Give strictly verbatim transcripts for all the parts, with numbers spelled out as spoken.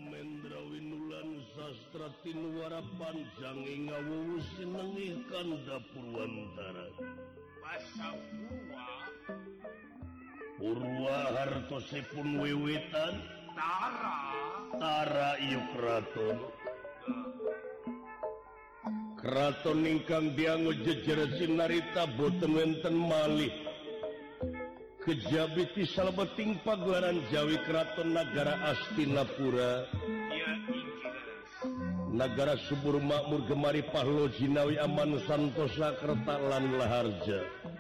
Mendra Winulan sastra tinuara panjang ngawuwu sinengih kanda Purwantara. Pasapurwa Purwa hartosipun wiwitan Tara Tara ieu kraton. Kraton ingkang diango jejer sinarita boten wenten malih. Kejabiti salebeting pagelaran Jawi Kraton Nagara Astinapura. Ya ingkiras Nagara subur makmur gemari pahlo jinawi aman santosa kerta lan laharja.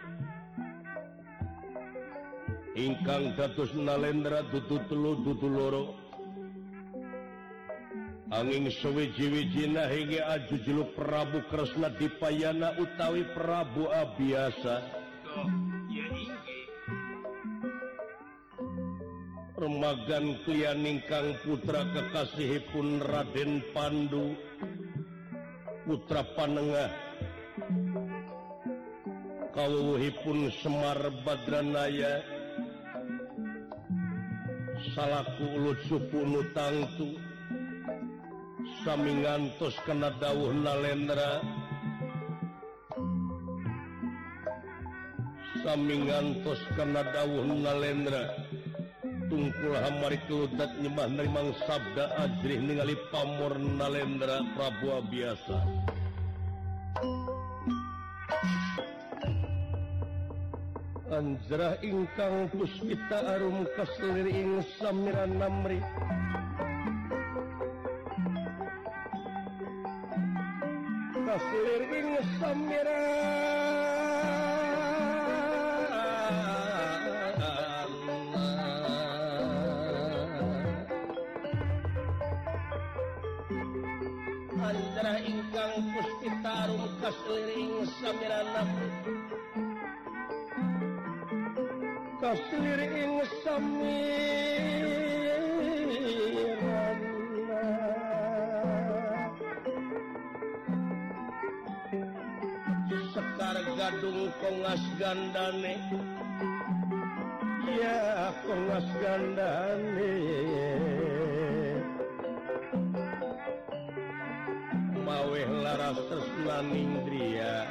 Ingkang dados Nalendra dudu telu dudu loro. Anging sewiji-wijina hingga aju jeluk Prabu Kresna Dipayana utawi Prabu Abiasa. Toh ya ingki Remagan klian ingkang putra kekasihipun Raden Pandu putra panengah kawuhipun Semar Badranaya salaku ulut supunu tangtu sami ngantos kena dawuh Nalendra sami ngantos kena dawuh Nalendra tungkul hamari keludat nyembah nerimang sabda ajrih ningali pamor Nalendra Prabu Abiasa. Anjrah ingkang puspita arum kaslir ing samira namri kaslir ing samira Anjrah ingkang puspita arum kaslir ing samira namri kaslir ing samirana sekar gadung kongas gandane ya kongas gandane maweh laras tresna nindria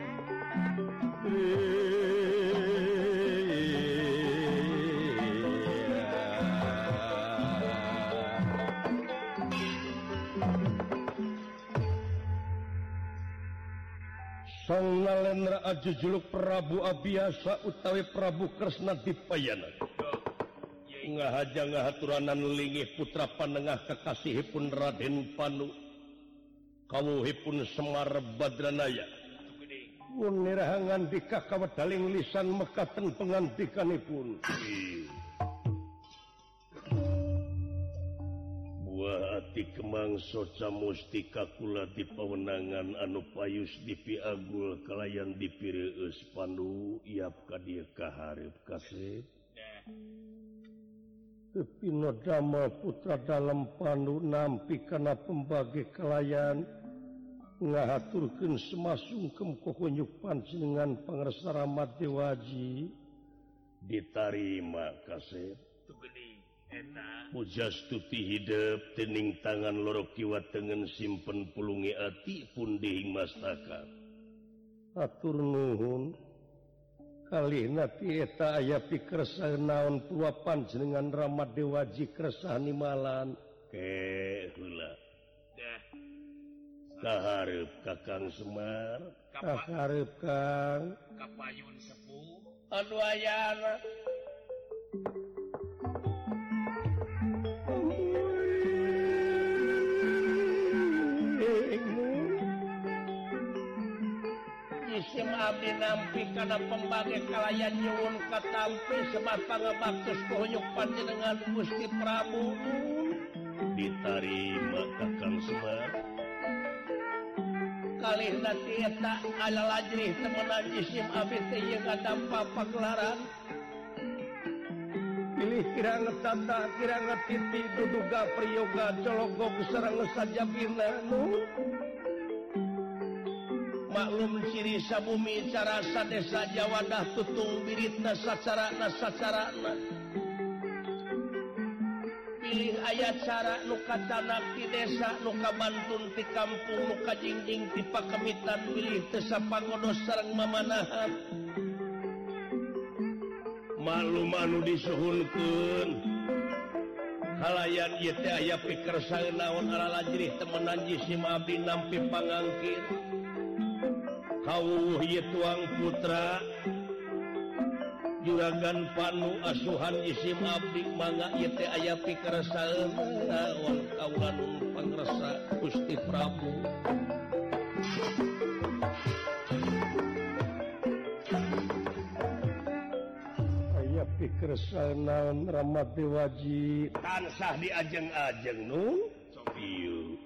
Sang Nalendra aju juluk Prabu Abiasa utawi Prabu Kresna Dipayana. Ngahaja ngahaturanan linggih putra panengah kekasihipun Raden Panu kawuhipun Semar Badranaya. Munirahangan dika kawedaling lisan mekaten pengantikanipun. Buah ati kemangso mustika kula di pawenangan anu payus dipi agul kalayan dipireus Pandu iap ka dieu kaharep kasih. Tepino damel putra dalam Pandu nampi kana pembagi kalayan ngahaturkeun semasungkem kohonyuk panjenengan pangresa Ramat Dewaji ditarima kasih. Pujastuti hidup tening tangan loro kiwa tengen simpen pulungi ati punding mastaka. Atur nuhun kalihna ti eta aya pikersa naon tua panjenengan Ramat Dewaji kersa nimalan ke heula. dah Kaharep Kakang Semar, kaharep Kang kapayun sepuh anu ayana. Isim abdi nampi kana pembagi kalayan nyuwun katampi sebab pangabaktus kohonyuk panjenengan Gusti Prabu ditarima Kakang Semar. Kalihna tieta ala lajrih temenan isim abdi teh ieu kadampa pagelaran. Pilih kirang tata kirang titi duduga priyoga cologog sareng sajabina nu maklum ciri sabumi cara sadesa Jawadah tutung biritna sacarana sacarana pilih ayat cara nuka canak di desa nuka bantun di kampung nuka jingjing di pakemitan pilih tesa pagodos sareng mamanahan malum anu disuhunkeun halayan ieu teh aya pikersaan naon ala lajrih temenan jisim abdi nampi pangangkir kawuh ieu tuang putra juragan panu asuhan jisim abdi mangga ieu teh aya pikersaan naon kaula nun pangresa Gusti Prabu aya pikersaan naon Ramadewaji tansah diajeng-ajeng nun ieu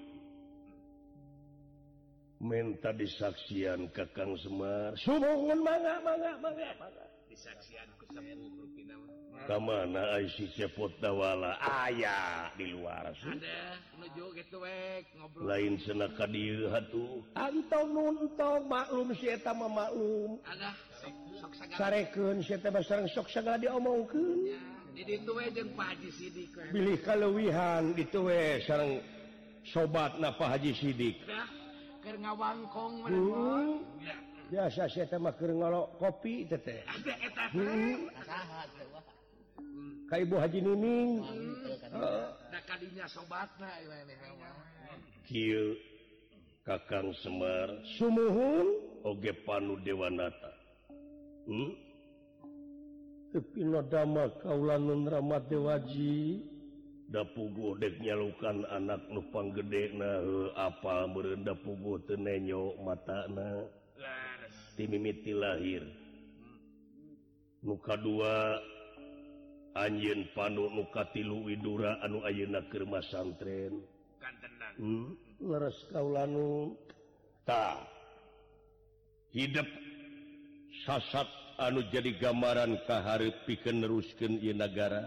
minta disaksian Kakang Semar sumuhun mangga mangga mangga mangga disaksian ku sepuh rupina kamana ai si cepot dawala aya di luar ada nuju gitu wek ngobrol lain cenah ka dieu hatuh antong nuntong maklum si eta mah maklum ada sok sok sagala sarekeun si eta mah sareng sok sagala diomongkeun ya di ditu we jeung Pak Haji Sidik we bilih kaleuwihan ditu we sareng sobatna Pak Haji Sidik dah keur ngawangkong we hmm. ya biasa si eta mah keur ngolok kopi teh teh ada eta hmm. saha teh wah ka Ibu Haji Nining da kadinya sobatna ieu mah kieu Kakang Semar sumuhun oge Panu Dewanata hmm? Tepi nodama kaula nun Ramadewaji da puguh dek nyalukan anak nu panggedena heuh apal meureun da puguh teu nenyo matana ti mimiti lahir nu kadua anjeun Panu nu katilu Widura anu ayeuna keur masantren kantenan hmm? leres kaula nu tah hidup sasat anu jadi gambaran kahareup pikeun neruskeun ieu nagara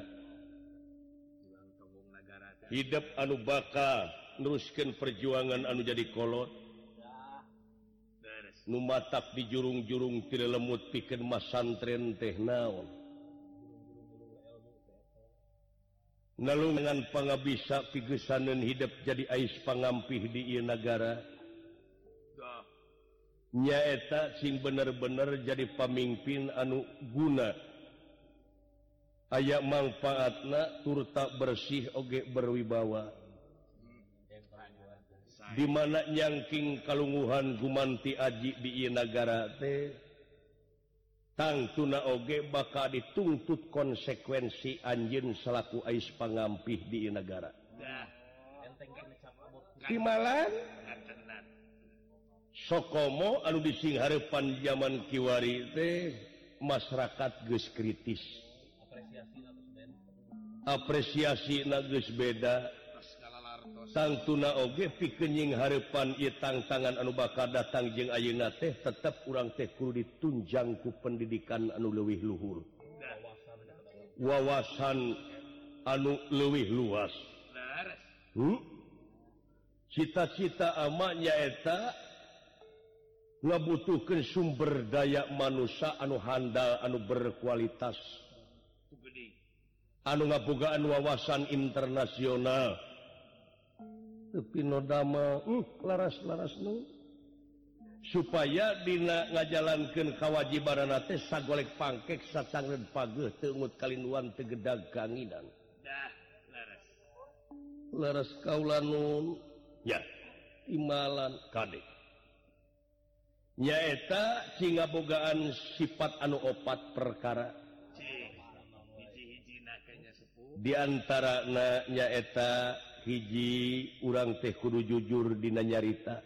hidup anu bakal neruskeun perjuangan anu jadi kolot nu matak di jurung-jurung ti lemut pikeun masantren teh naon nalungan pangabisa pigesaneun hidup jadi ais pangampih di ieu nagara nyaeta sing bener-bener jadi pamimpin anu guna aya manfaatna turta bersih oge berwibawa di mana nyangking kalunguhan gumanti aji di ieu nagara teh tangtuna oge bakal dituntut konsekuensi anjeun salaku ais pangampih di ieu nagara timalan sokomo anu disinghareupan zaman kiwari teh masyarakat geus kritis apresiasina geus beda tangtuna oge pikeun nying hareupan ieu tantangan anu bakal datang jeung ayeuna teh tetep urang teh kudu ditunjang ku pendidikan anu leuwih luhur wawasan anu leuwih luas hmm? cita-cita ama nyaeta ngabutuhkeun sumber daya manusia anu handal anu berkualitas anu ngabogaan wawasan internasional tapi nodama uh, laras-laras nu supaya dina ngajalankeun kawajibanana teh sagolek pangkek sacangreun pageuh teu eungut kalinduan teu gedag kanginan dah laras laras kaula nun ya imalan kadek nyaeta sing ngabogaan sifat anu opat perkara hiji-hijina kanya sepuh di antarana nyaeta hiji urang teh kudu jujur dina nyarita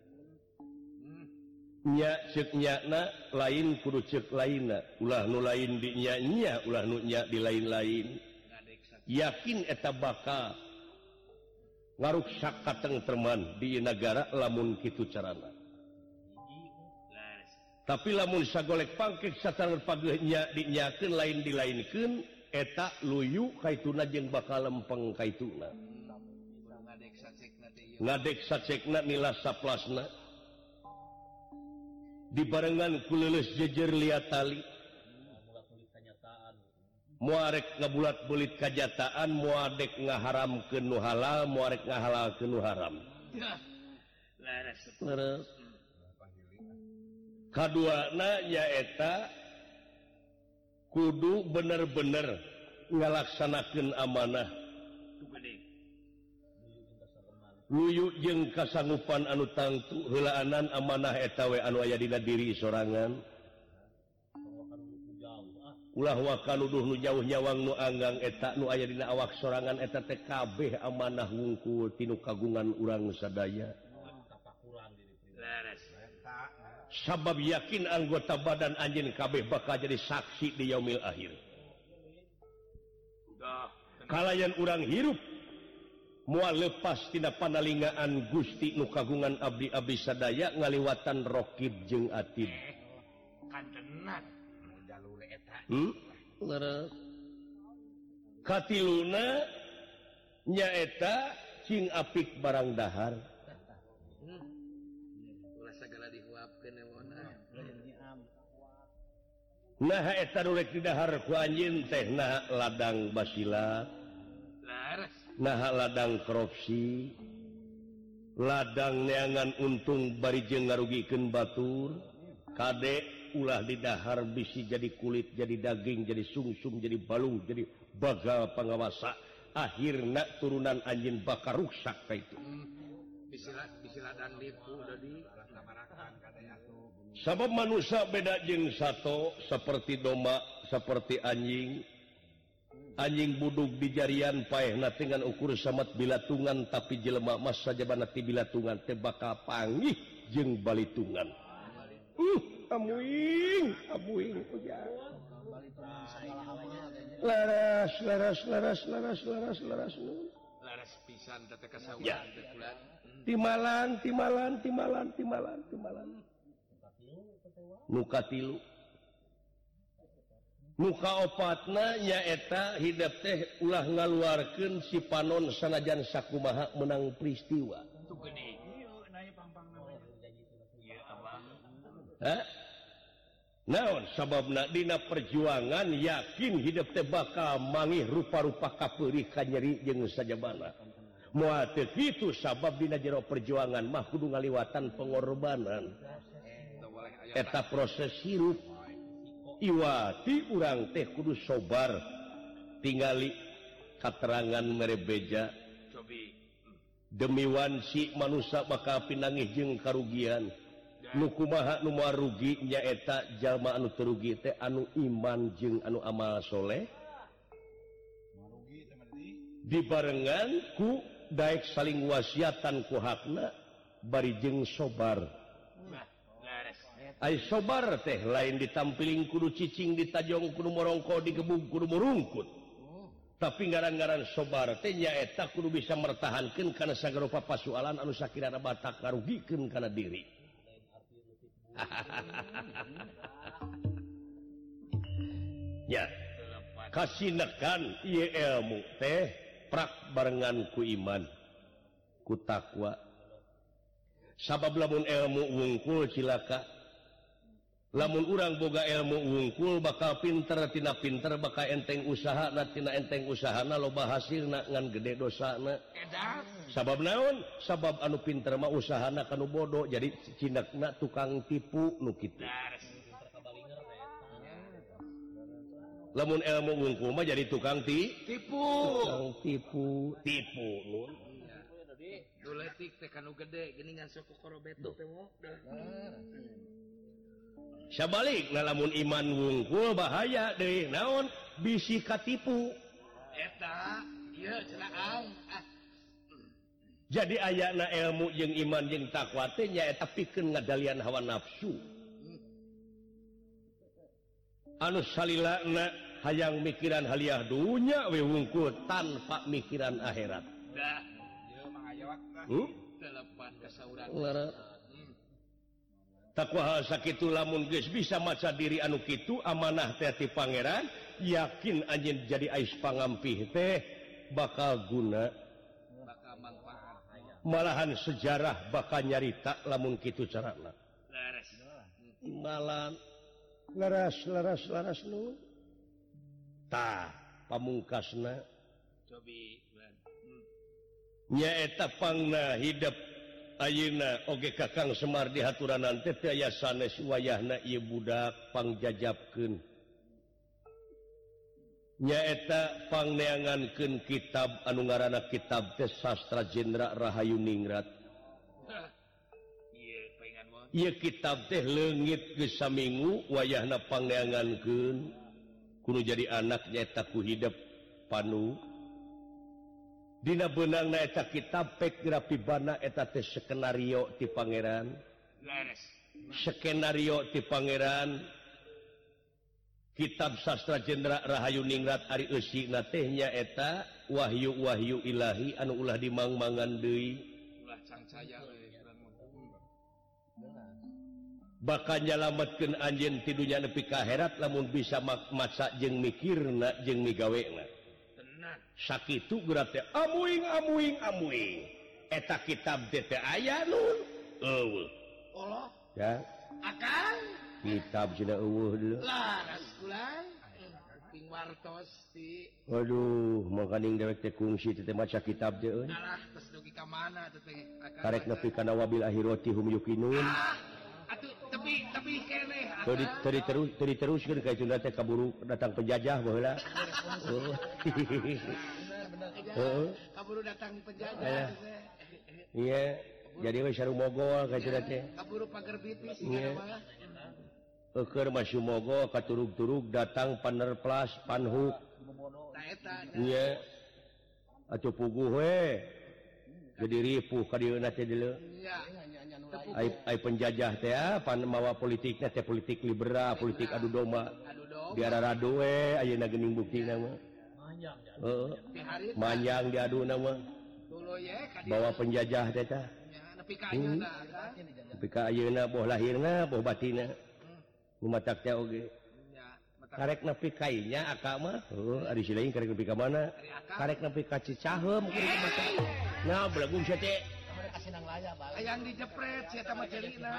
nya ceuk nyana lain kudu ceuk lainna ulah nu lain di nya nya ulah nu nya di lain-lain yakin eta bakal ngaruksak katengtreman di nagara lamun kitu carana tapi lamun sagolek pangkek satangan pageuh nya dinyakeun lain dilainkeun eta luyu kaituna jeung bakal lempeng kaituna ngadek sacekna nila saplasna dibarengan ku leuleus jejer liat tali muarek ngabulat belit kajataan muadek ngaharam ke nu halal muarek ngahalal ke nu haram leres kaduana nyaeta kudu bener-bener ngalaksanakeun amanah luyu jeung kasanggupan anu tangtu heulaanan amanah eta we anu aya dina diri sorangan ulah wakaluduh nu jauh nyawang nu anggang eta nu aya dina awak sorangan eta teh kabeh amanah wungkul tinu kagungan urang sadaya sabab yakin anggota badan anjeun kabeh bakal jadi saksi di yaumil akhir kalayan urang hirup moal lepas tina panalingaan Gusti nu kagungan abdi-abdi sadaya ngaliwatan Raqib jeung Atid kantenan jalur eta hmm leres katiluna nyaeta cing apik barang dahar ulah sagala dihuapkeun ewona nah eta nu rek didahar ku anjeun teh nah ladang basilat laras nah ladang korupsi ladang neangan untung bari jeung ngarugikeun batur kade ulah didahar bisi jadi kulit jadi daging jadi sungsung jadi balung jadi bagal pangawasa akhirna turunan anjeun bakal rusak ka itu bisilat bisiladang lipu udah di sabab manusia beda jeung sato seperti domba seperti anjing anjing budug di jarian paehna dengan ukur samat bilatungan tapi jelema mas sajabana ti bilatungan teh bakal panggih jeung balitungan uh amuing amuing ujang laras laras laras laras laras laras laras pisan teh kasawuran teh bulan timalan timalan timalan timalan timalan nu katilu muka opatna nyaeta hidup teh ulah ngaluarkeun si panon sanajan sakumaha menang peristiwa tu gede ieu naya pampangna ieu abang ha naon sababna dina perjuangan yakin hidup teh bakal mangih rupa-rupa kapeurih ka nyeri jeung sajabana moal teu kitu sabab dina jero perjuangan mah kudu ngaliwatan pengorbanan eta proses hirup iwati urang teh kudu sobar tingali katerangan merebeja demi wansi manusia bakal pinangih jeung karugian nu kumaha nu moal rugi nyaeta jalma anu terugi teh anu iman jeung anu amal soleh dibarengan ku daek saling wasiatan ku hakna bari jeung sobar ai sobar teh lain ditampiling kudu cicing ditajong kudu morongko digebug kudu murungkut tapi ngaran-ngaran sobar teh nyaeta kudu bisa mertahankeun kana sagala papasoalan anu sakirana batak ngarugikeun kana diri ya kasinekan ieu ilmu teh prak barengan ku iman ku takwa sabab lamun ilmu wungkul cilaka lamun urang boga ilmu wungkul bakal pinter tina pinter bakal enteng usaha na tina enteng usahana loba hasilna ngan gede dosana sabab naon sabab anu pinter mah usahana kanu bodoh jadi cindakna tukang tipu nu kitu lamun ilmu wungkul mah jadi tukang ti tipu tukang tipu tipu nun duletik teh kanu gede geuningan sok korobeto teh modal sabalik lamun iman wungkul bahaya deui naon bisi katipu eta ieu cenah ah jadi ayana ilmu jeung iman jeung takwa teh nyaeta pikeun ngadalian hawa nafsu anu salilana hayang mikiran haliah dunya we wungkul tanpa mikiran akhirat da ieu mah aya waktu hmm? telepan kasauran takwa hal sakitu lamun geus bisa maca diri anu kitu amanah teh ti pangeran yakin anjeun jadi ais pangampih teh bakal guna bakal manfaat malahan sejarah bakal nyarita lamun kitu carana laras malan laras laras laras nu ta pamungkasna cobi hmm. nyaeta pangna hidup ayeuna oge Kakang Semar dihaturan teh teu aya sanes wayahna ieu budak pangjajabkeun nyaeta pangneangankeun kitab anu ngaranna kitab teh Sastra Jenderal Rahayu Ningrat. Ieu pengen mah. Ieu kitab teh leungit geus saminggu wayahna pangneangankeun kudu jadi anak nyaeta ku hidup panu. Dina beunangna eta kitab pek grafibana eta teh skenario ti pangeran. Leres. Skenario ti pangeran. Kitab Sastra Jenderal Rahayu Ningrat ari eusina teh nyaeta wahyu-wahyu ilahi anu ulah dimangmangan deui. Ulah cancaya we bakal nyalametkeun anjeun ti dunya nepi ka akhirat lamun bisa maca jeung mikirna jeung migawena. Tenan. Sakitu geura teh amuing amuing amuing. Eta kitab teh teh aya nun. Eueuh. Allah. Ya. Akang. Kitab cenah eueuh deuleu. Laras kulang. Ping wartos ti. Waduh, makaning dewek teh kungsi teh maca kitab teh euy. Alah, tos dugi ka mana teh teh. Karek nepi kana wabil akhirati hum yuqinun. Ah, atuh tapi tapi keneh. Tadi tadi terus tadi teruskeun ka Sunda teh kaburu datang penjajah baheula. Oh. Heeh. Kaburu datang penjajah. Iya, jadi we saru mogol ka Sunda teh. Kaburu pager bitis sigana mah. Keur masih mogol katurug-turug datang panerplas panhuk. Nah eta. Iya. Atuh puguh we. Jadi ripuh ka dieu teh deuleu. Iya. Ai ai penjajah teh pan mawa politikna teh politik liberal, politik adu domba. Adu domba. Biar rado we ayeuna geuning buktina mah. Manjang. Heeh. Manjang diaduna mah. Tuluy ye ka bawa penjajah teh tah. Nya nepi ka ayeuna kan. Nepi ka ayeuna boh lahirna, boh batina. Lumatak teh oge. Karek nepi ka inya aka mah. Heuh, ari si lain karek nepi ka mana? Karek nepi ka Cicaheum kudu maca. Nah, belagung sia teh. Ayang dijepret sia tah mah cerina.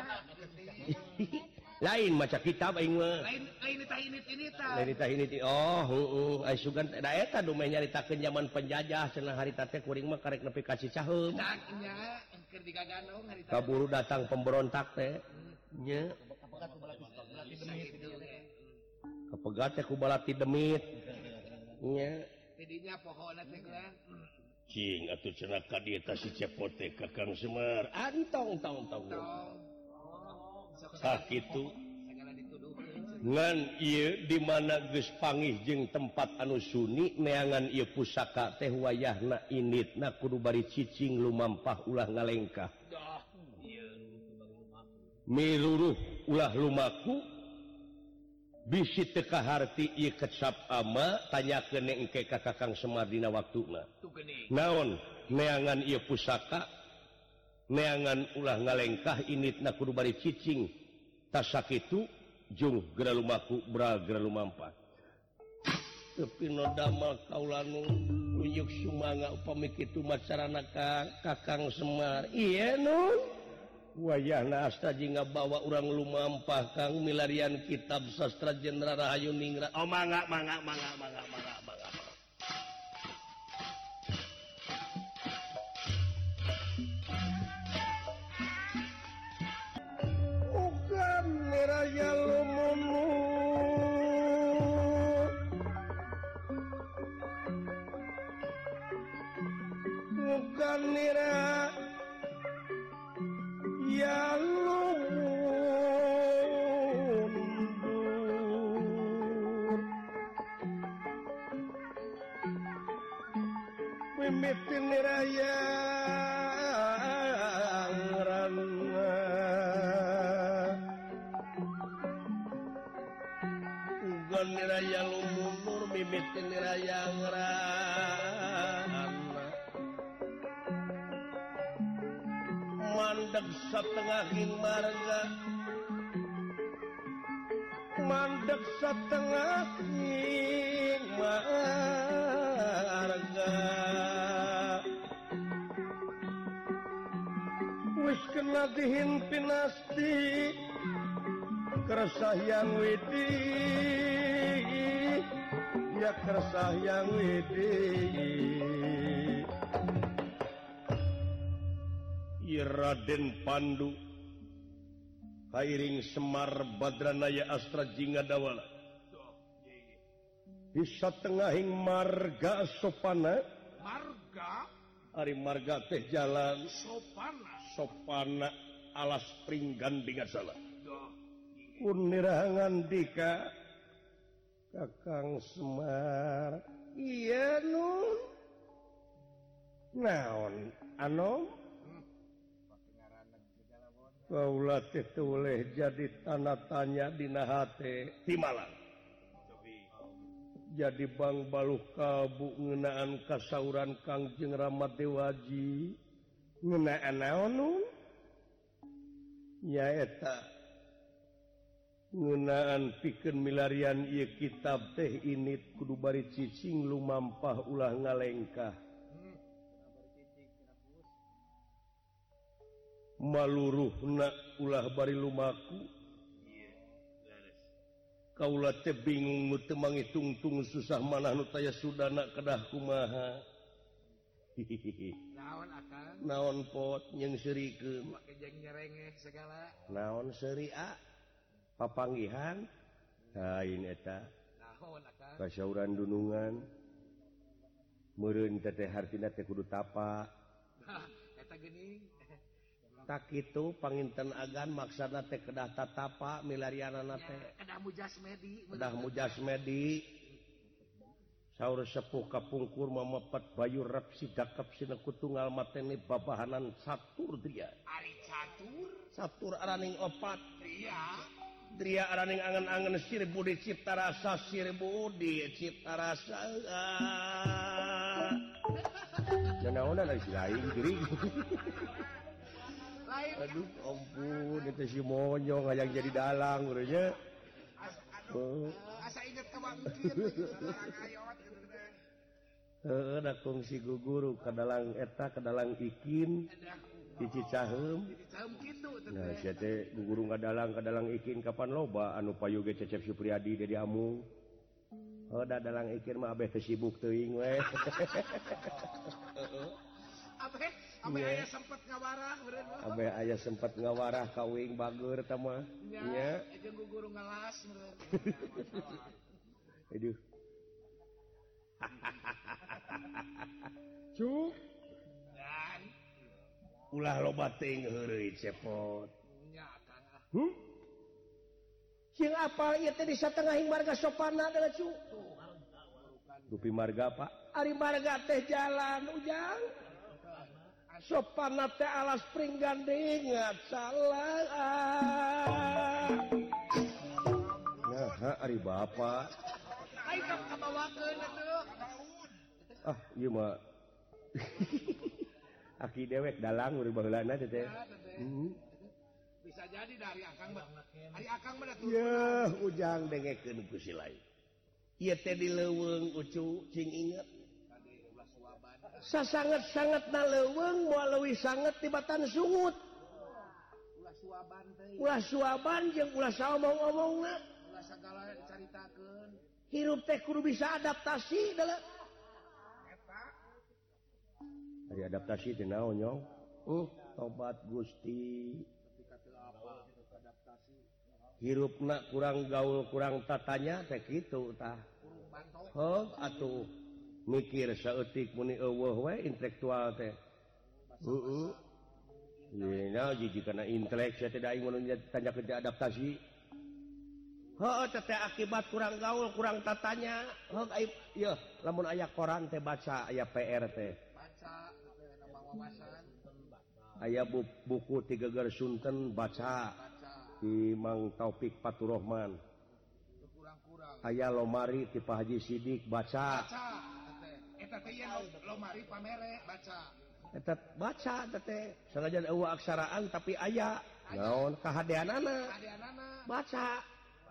Lain maca kitab aing mah. Lain lain tah ini ini tah. Lain tah ini oh, heueuh, ai sugan da eta dumeh nyaritakeun zaman penjajah cenah harita teh kuring mah karek nepi ka Cicaheum. Daknya keur digaganong harita. Kaburu datang pemberontak teh. Nya. Kapegat teh ku balati demit. Nya. Tidinya pohonna teh kan. Cing atuh cenah ka dieu teh si Cepot teh Kakang Semar. Antong tong tong. Sakitu. Ngan ieu di mana geus panggih jeung tempat anu suni neangan ieu pusaka teh wayahna initna kudu bari cicing lumampah ulah ngalengkah. Miluruh ulah lumaku bisi teu kaharti ieu kecap ama tanyakeun engke ka Kakang Semar dina waktuna. Naon neangan ieu pusaka neangan ulah ngalengkah initna kudu bari cicing tas sakitu jung geura lumaku bra geura lumampah. Tapi no damel kaula nu uyuk sumanga upami kitu macarana ka Kakang Semar. Ieu nun wayahna asta jingga bawa urang lumampah kang milarian kitab Sastra Jenderal Rahayu Ningrat. Oh mangga mangga mangga mangga mangga mangga. Ugan niraya lumunu ugan niraya ya lumundur mimitin raya ngerana ugan raya lumundur mimitin raya ngerana mandeg satengahing marga mandeg satengahing marga wis kena dihimpin asti keresah yang widi ya kersah yang widi Raden Pandu Kairing Semar Badranaya Astra Jingga Dawala bisa tengahing marga sopana marga Ari marga teh jalan sopana sopana alas pringgan dengan salah Unirangan dika Kakang Semar iya nun naon anom kaula teh boleh jadi tanda tanya dina hate di Malang jadi Bang Baluh Kalbu ngeunaan kasauran Kangjeng Ramadewaji ngeunaan naon nun nyaeta ngeunaan pikeun milarian ieu kitab teh ini kudu bari cicing lumampah ulah ngalengkah maluruhna ulah bari lumaku kaula teh bingung teu mangitungtung susah manah nu taya sudana kedah kumaha naon akang naon pot nyengsirikeun make jeng nyerengeh segala naon seuri a papanggihan lain eta naon akang kasauran dunungan meureun teh hartina teh kudu tapa eta geuning tak kitu panginten agan maksana teh kedah tatapa milarianana teh kedah mujasmedi kedah mujasmedi saur sepuh kapungkur mamepet bayu rep sidakep sina kutunggal mateni babahanan satur dria ari catur satur araning opat dria dria araning angen-angen sir budi cipta rasa sir budi cipta rasa nanaonan ari lain geuring aduh ampun itu si monyong hayang jadi dalang urangnya asa inget ka bangkit heeh da kongsi guguru kadalang eta kadalang ikin cici caheum caheum kitu nah sia teh guguru ngadalang kadalang ikin kapan loba anu payu ge Cecep Supriyadi Dedi Amung oh da dalang ikin mah abeh teu sibuk teuing we abeh abeh aya sempet ngawarah beureun abeh aya sempet ngawarah kawing bageur tah mah nya jeung guguru ngalas beureun aduh cuk dan ulah loba teuing heureuy cepot nya kan ah hmm sing apal ieu teh di satengahing marga sopana da cuk dupi marga Pak ari marga teh jalan ujang sopana teh alas pringgan ingat salah nah ari bapak ai ka kabawakeun atuh ah ieu mah aki dewek dalang urang baheulana teh teh bisa jadi dari akang mah ari akang mah atuh yeuh ujang dengekeun ku si lain ieu teh di leuweung ucu cing inget sasanget-sanget na leuweung moal leuwih sanget tibatan sungut ulah suaban teh ulah suaban jeung ulah saomong-omongna ulah sagala dicaritakeun hirup teh kudu bisa adaptasi dalam eta ari adaptasi teh naon nyong uh tobat Gusti ketika teu apa adaptasi hirupna kurang gaul kurang tatanya teh kitu tah heuh atuh mikir saeutik muni eueuh we intelektual teh heeh ieu na jiji kana intelek saya teh aing mun tanya kerja adaptasi heuh teh akibat kurang gaul kurang tatanya heuh ai ieu lamun aya koran teh baca aya P R teh baca nama wawasan aya buku ti Geger Sunten baca di Mang Taufik Faturrahman kurang-kurang aya lomari ti Pak Haji Sidik baca baca eta teh yen lomari pamere baca eta baca teh sanajan eueuh aksaraan tapi aya naon kahadeanana kahadeanana baca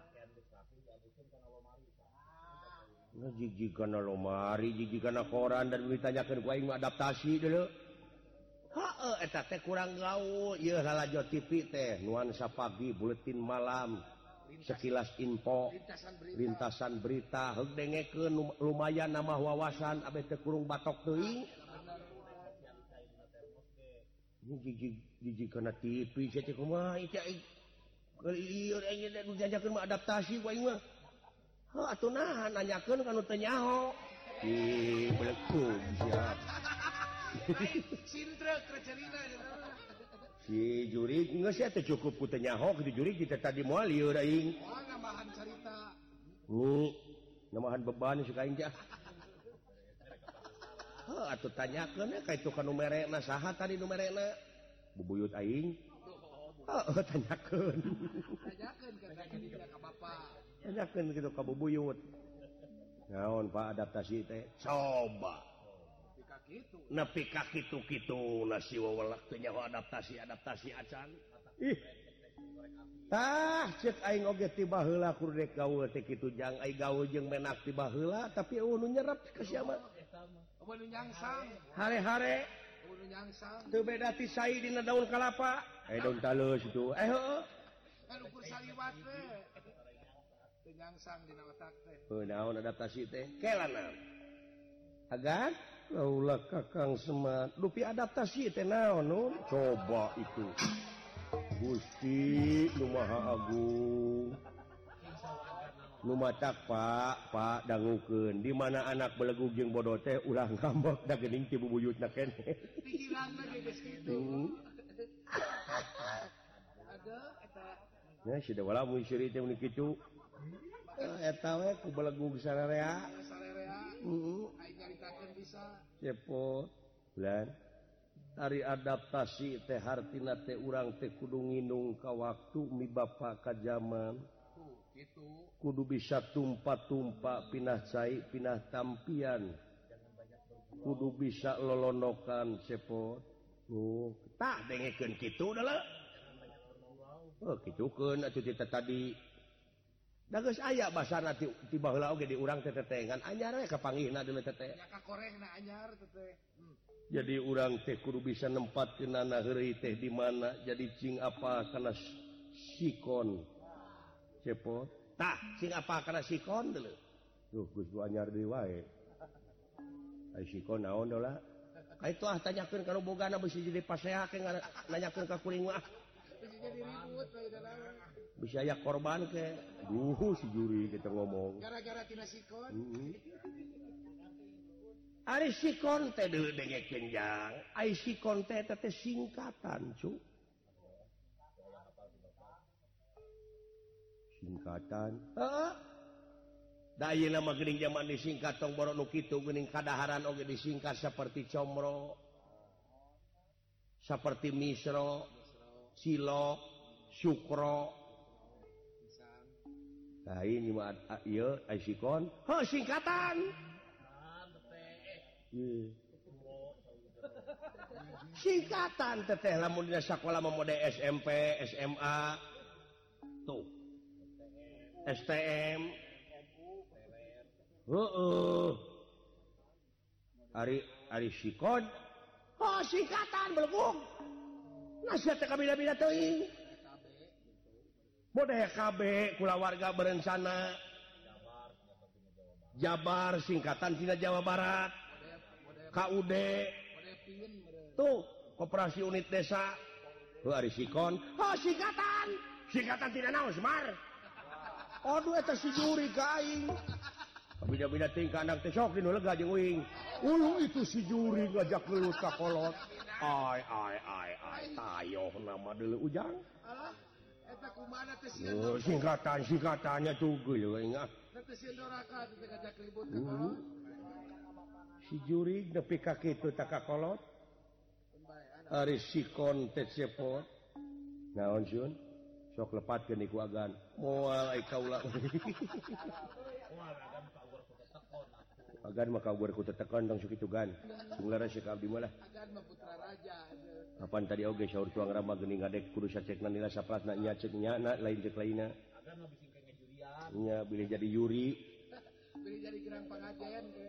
nah jiji kana lomari jiji kana koran dan ditanyakeun ku aing adaptasi deuleu heeh eta teh kurang gaul ieu lalajo T V teh nuansa pagi buletin malam sekilas info lintasan berita dengekeun lumayan nama wawasan abet teu kurung batok teuing jiji jiji kana T V cek kumaha ieu ieu ieu jajakeun mah adaptasi wae mah heuh atuh nahan nanyakeun kanu teu nyaho ih belekung siap sintrek recerina si jurig geus ya teh cukup ku teu nyaho di jurig kita tadi moal lieur aing oh nambahan carita ni nambahan beban suka aing teh heuh atuh tanyakeun ka itu ka nu merena saha tadi nu merena bubuyut aing heuh tanyakeun tanyakeun ka ka ka bapa tanyakeun kitu ka bubuyut naon Pak adaptasi teh coba nepi ka kitu-kitu nasi wawelak teh nyaho adaptasi-adaptasi acan. Ih. Tah ceuk aing oge ti baheula kudu rek gaul teh kitu jang ai gaul jeung menak ti baheula tapi eueuh nu nyerep ka sia mah. Eueuh nu nyangsang. Hare-hare. Eueuh nu nyangsang. Teu beda ti sai dina daun kalapa. Eh daun taleus itu. Eh heueuh. Kan ukur saliwat teh. Teu nyangsang dina otak teh. Heuh naon adaptasi teh? Kelana. Agan laulah Kakang Semar dupi adaptasi teh naon nun coba itu Gusti nu Maha Agung nu matak Pak Pak dangukeun di mana anak belegug jeung bodoh teh ulah ngambek da geuning ti bubuyutna keneh pikiranna ge geus kitu ada eta nya si da wala mun siri teh mun kitu eta we ku belegug sararea sararea heeh aing nyaritakeun bisa cepot lan ari adaptasi teh hartina teh urang teh kudu nginung ka waktu mi bapa ka zaman tuh kitu kudu bisa tumpa-tumpa pinah cai pinah tampian kudu bisa lolonokan cepot oh tah dengekeun kitu da oh kitukeun atuh kita tadi da geus aya basana ti ti baheula oge di urang teh tetengan anyar we kapanggihna deuleu teteh nya ka korehna anyar teteh hmm. Jadi urang teh kudu bisa nempatkeunana heureuy teh di mana jadi cing apa kana sikon cepot tah cing apa kana sikon deuleu duh geus du anyar deui wae ai sikon naon deula ai tuah tanyakeun kana bogana bisi jadi pasea ke nanyakeun ka kuring mah bisi jadi ribut bisa aya korban ke duh si juri kita ngomong gara-gara tina sikon heeh ari sikon teh deuleu dengekeun jang ai sikon teh teh singkatan cu singkatan heeh da ayeuna mah geuning zaman disingkat tong boro nu kitu geuning kadaharan oge disingkat saperti comro saperti misro cilok sukro nah ini mah ieu ai sikon heuh singkatan singkatan teteh lamun dina sakola mah mode S M P S M A tuh S T M heeh ari ari sikon oh singkatan belegug nasihat teh kabila-bila teuing mode K B kulawarga berencana Jabar singkatan tina Jawa Barat K U D tuh koperasi unit desa tuh ari sikon oh singkatan singkatan tina naon Semar aduh eta si juri ka aing bida-bida tingkah anak teh sok dinu lega jeung uing uluh itu si juri ngajak gelut ka kolot ai ai ai ai tayoh nama deuleu ujang alah eta kumaha teh oh singkatan singkatannya tuh geuleuh ingat teh sieun doraka teh ngajak ribut ka kolot si juri nepi ka kitu teh ka kolot ari sikon teh cepot naon sun sok lepatkeun iku agan moal ai kaula agan mah kabar ku tetekon tong sok kitu gan sunglara si abdi mah lah agan mah putra raja kapan tadi oge saur tuang rama geuning ngadek kudu sacekna nila saplasna nya cek nya na lain cek lainna agan mah bisi kenge jurian nya bilih jadi yuri bilih jadi gerang pangajian ge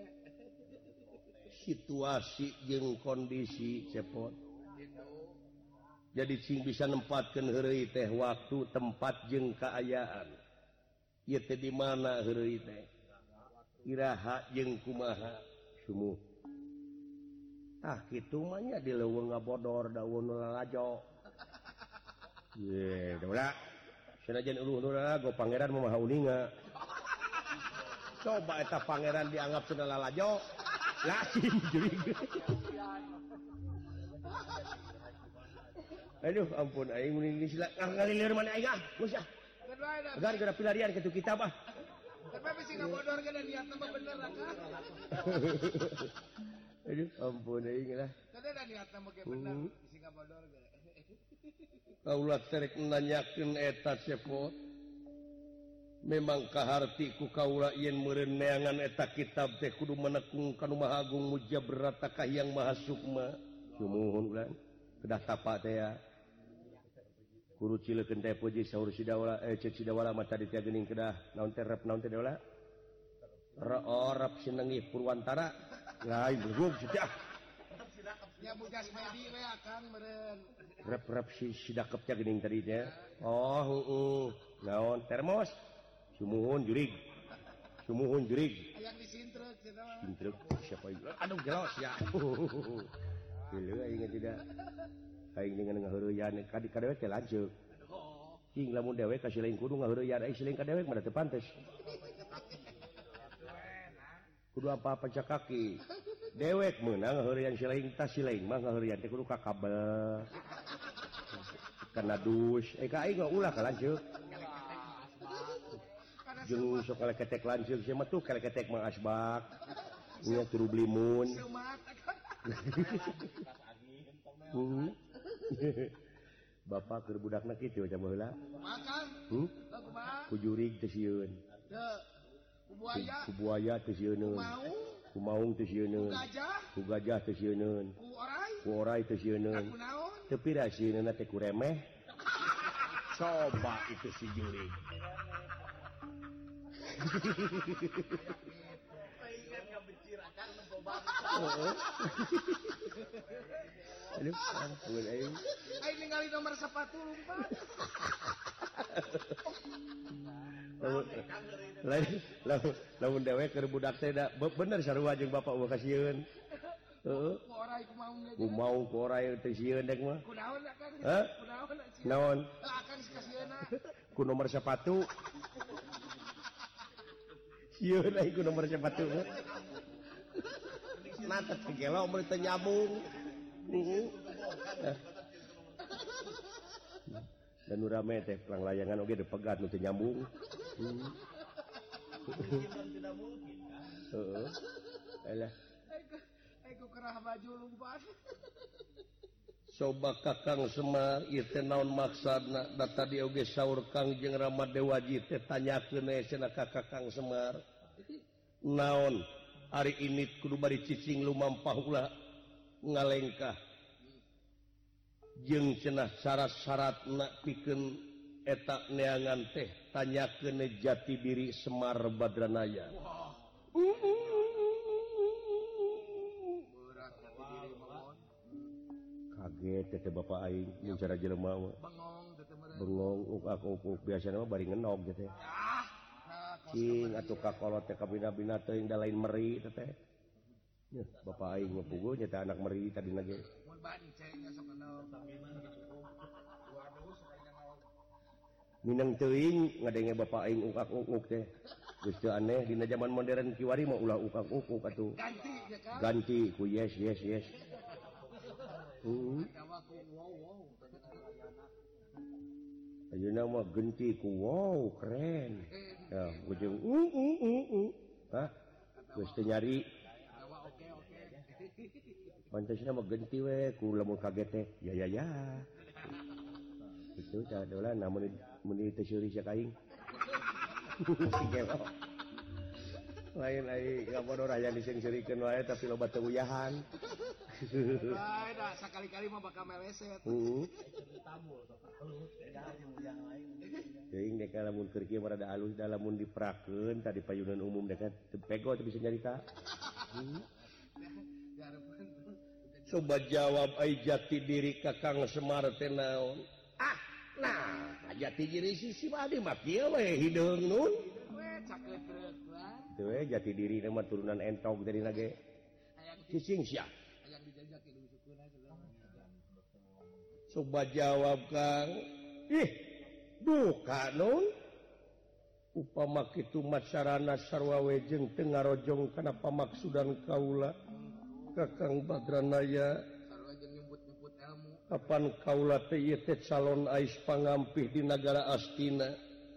situasi jeung kondisi cepot jadi cing bisa nempatkeun heureuy teh waktu tempat jeung kaayaan ieu teh di mana heureuy teh iraha jeung kumaha sumuh ah kitu mah nya di leuweung ngabodor daun lalajo ye da sanajan uluh lalago pangeran mah uninga coba eta pangeran dianggap cenah lalajo lasim jurig aduh ampun aing mun sila ngalilir mana aing ah geus ah agar geura pilarian kitu kitab ah tapi sih ngabodor kan niatna mah bener kan aduh ampun aing lah tadi ada niatna mah ge bener sih ngabodor ge kaula terek nanyakeun eta cepot memang kaharti ku kaula yen meureun neangan eta kitab teh kudu menekung kanu Maha Agung Mujabrata Kahyang Maha Sukma sumuhun ulang kedah tapa teh ya kudu cileukeun teh puji saur sidawala eh ceuk sidawala mah tadi teh geuning kedah naon teh rep naon teh daula rep sinengih Purwantara lain beugum sidah nya bujas medi we akang meureun rep-rep si sidakep teh geuning tadi teh oh heeh naon termos sumuhun jurig sumuhun jurig yang disintrek cenah mah sintrek siapa itu aduh gelos ya Gila aing tidak aing dengan ngaheureuyan ka di kadewek teh lanceuk cing lamun dewek ka sileung kudu ngaheureuyan aing sileung ka dewek mah teu pantes kudu apa-apa cak kaki dewek meunang ngaheureuyan sileung tah sileung mah ngaheureuyan teh kudu ka kabel kana dus eh ka aing mah ulah ka lanceuk jeung sok kaleketek lanceuk sia mah tuh kaleketek mah asbak nya turu blimun Bapak keur budakna kitu ca baheula. Makan. Hmm? Ku jurig teh sieun. Teu. Ku buaya. Ku buaya teh sieun. Ku maung teh sieun. Ku gajah. Ku gajah teh sieun. Ku orai. Ku orai teh sieun. Ku naon? Teu pira sieunna teh ku remeh. Coba itu si jurig. Aduh, ampun aing. Aing ningali nomor sepatu lumpat. Lain lamun lamun dewek keur budak teh da bener sarua jeung bapak eueuh kasieun. Heeh. Ku orai ku maung Ku mau ku orai teh sieun dek mah. Ku naon akan? Hah? Ku naon? Naon? Akan kasieuna. Ku nomor sepatu. Sieun aing ku nomor sepatu. Natet kegelo mun teu nyambung. Heeh. Dan nu rame teh perang layangan oge depegat nu teu nyambung. Heeh. Alah. Aku kerah baju lumpat. Coba Kakang Semar ieu teh naon maksudna? Da tadi oge saur Kangjeng Rama Dewaji teh tanyakeun we cenah ka Kakang Semar. Naon? Hari ini kudu bari cicing lumampah ulah ngalengkah jeung cenah syarat-syaratna pikeun eta neangan teh tanyakeun jati diri Semar Badranaya. Kaget teh bapak aing mun cara jelema mah. Bengong teh meureun. Bengong uk-uk biasana mah bari ngenog teh. Cing atuh kakolot teh kabina-bina teuing da lain meri teh teh. Nya bapak aing mah puguh nya teh anak meri tadina ge. Mun banceng sok kenal bagaimana waduh sakali naon. Minang teuing ngadenge bapak aing uk-uk teh. Geus teu aneh dina zaman modern kiwari mah ulah uk-uk atuh. Ganti ya kan? Ganti ku yes yes yes. Hmm. Ayeuna mah genti ku wow keren. Ya, ujung uh uh uh uh. Hah? Geus teu nyari. Pantesna mah genti we ku lamun kaget teh. Ya ya ya. Itu tah dolan namun mun teu seuri sia kaing. Sigelo. Lain ai ngabodor aya disengseurikeun wae tapi loba teu uyahan. Lain dah sakali-kali mah bakal meleset. Heeh. Teuing dek lamun keur kieu rada alus da lamun diperakeun tadi payunan umum dek teu pego teu bisa nyarita. Coba jawab ai jati diri Kakang Semar teh naon? Ah, nah jati diri sisi mah mah kieu we hideung nun we cakeut lah teu we jati diri mah turunan entog dari nage cicing sia yang dijajak dulu sukeuna coba jawab Kang ih duka nun upama kitu macarana sarwa wejeng teu ngarojong kana pamaksudan kaula Kakang Badranaya sarua jeung nyebut-nyebut ilmu kapan kaula teh ieu teh calon ais pangampih di negara Astina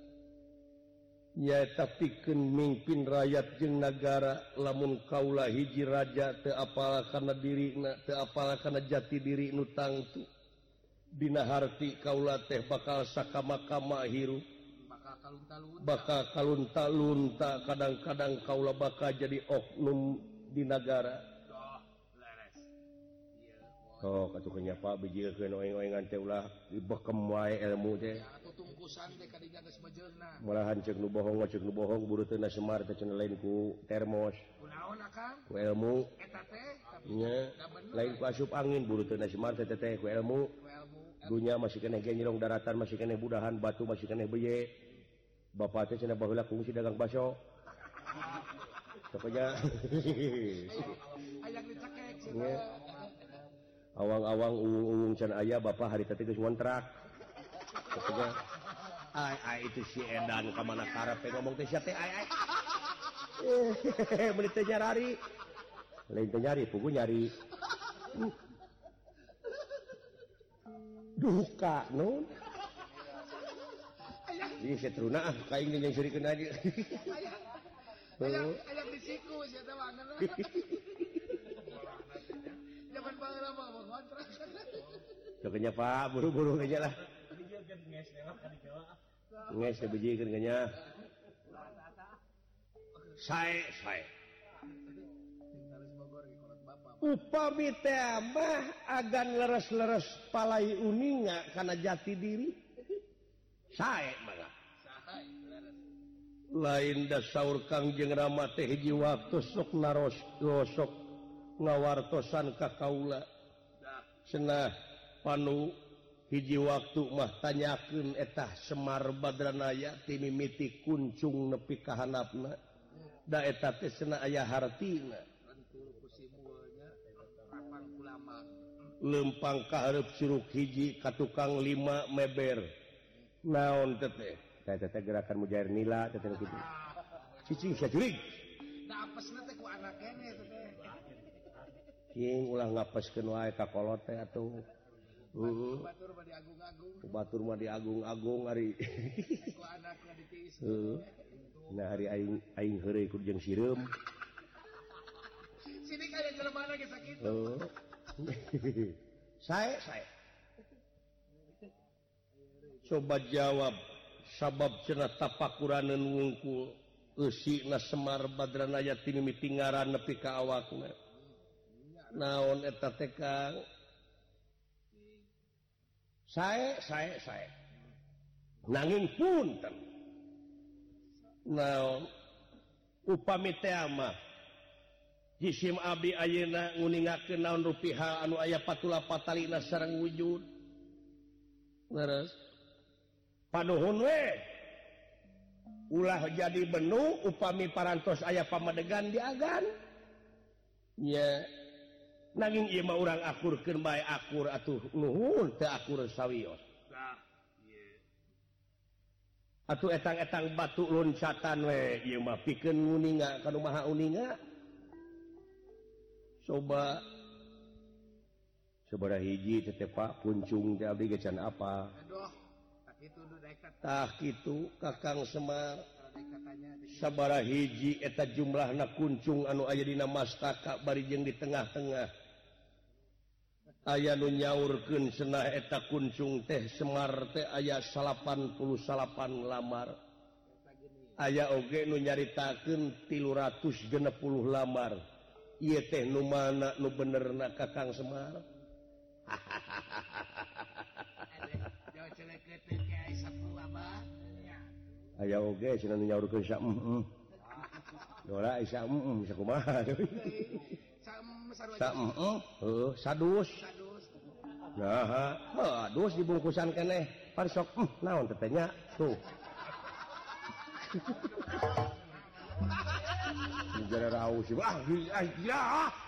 nyaeta pikeun mimpin rakyat jeung nagara lamun kaula hiji raja teu apal kana dirina teu apal kana jati diri nu tangtu dina harti kaula teh bakal sakama-kama hirup bakal kalunta-lunta bakal kalunta-lunta kadang-kadang kaula bakal jadi oknum di negara doh leres ieu oh katukeun Pak bijieun oeng-oengan teh ulah dibekem wae ilmu teh ya atuh tungkusan teh kadinya geus mejeulna malahan ceuk nu bohong ceuk nu bohong buruteuna semar teh cenah lain ku termos kunaon akang ku ilmu eta teh tapi nya da bener lain ku asup angin buruteuna semar teh teh ku ilmu ku ilmu dunya masih keneh genjrong daratan masih keneh budahan batu masih keneh beye bapak teh cenah baheula kungsi dagang baso pokoknya aya dicekek sih nya awang-awang uung-uung can aya bapak hari teh geus ngontrak pokoknya ai ai itu si edan ka mana karepe ngomong teh sia teh ai ai meuli teh nyari lain teh nyari pugu nyari duka nun ini setruna ah kaing yang sirikeun aja aya aya di siku sia teh mana zaman baheula mah ngontrak Coknya Pak buru-buru aja lah nges teh bijikeun nya sae sae upami teh mah agan leres-leres palai uninga kana jati diri sae mangga lain da saur Kang jeung Rama teh hiji waktu sok naros sok ngawartosan ka kaula cenah panu hiji waktu mah tanyakeun etah Semar Badranaya ti mimiti kuncung nepi ka handapna da eta teh cenah aya hartina lempang kahareup suruk hiji ka tukang lima meber naon teh teh teh teh gerakan mujair nila teh teh kitu cicing sia jurig da apesna teh ku anak keneh teh king ulah ngapeskeun wae ka kolot teh atuh heeh batur mah diagung-agung batur mah diagung-agung ari ku anakna ditiis heeh nah hari aing aing heureuy ku jeung sireum sini kaya jelema ge sakitu heeh sae sae coba jawab sabab cenah tapakuraneun wungkul eusina Semar Badranaya ti mimiti ngaran nepi ka awakna naon eta teh Kang sae sae sae nanging punten naon upami teh mah jisim abdi ayeuna nguningakeun naon rupiah anu aya patula patalina sareng wujud leres panuhun we ulah jadi benu upami parantos aya pamadegan diagan nya nanging ieu mah urang akurkeun bae akur atuh nuhun teu akur sawios atuh etang-etang batu loncatan we ieu mah pikeun nguninga kanu maha uninga coba sabaraha hiji teh Pak puncung teh abdi ge can apa aduh tak kitu nu daek tah kitu Kakang Semar sabaraha hiji eta jumlahna kuncung anu aya dina mastaka bari jeung di tengah-tengah aya nu nyaurkeun cenah eta kuncung teh Semar teh aya salapan puluh salapan lamar aya oge nu nyaritakeun tilu ratus genep puluh lamar ieu teh nu mana nu benerna Kakang Semar aya oge cenah nu nyaurkeun sa heeh dora isa heeh bisa kumaha sa heeh heuh sadus nah aduh dibungkusan keneh pan sok hmm, naon tetenya tuh Negara raus ah gila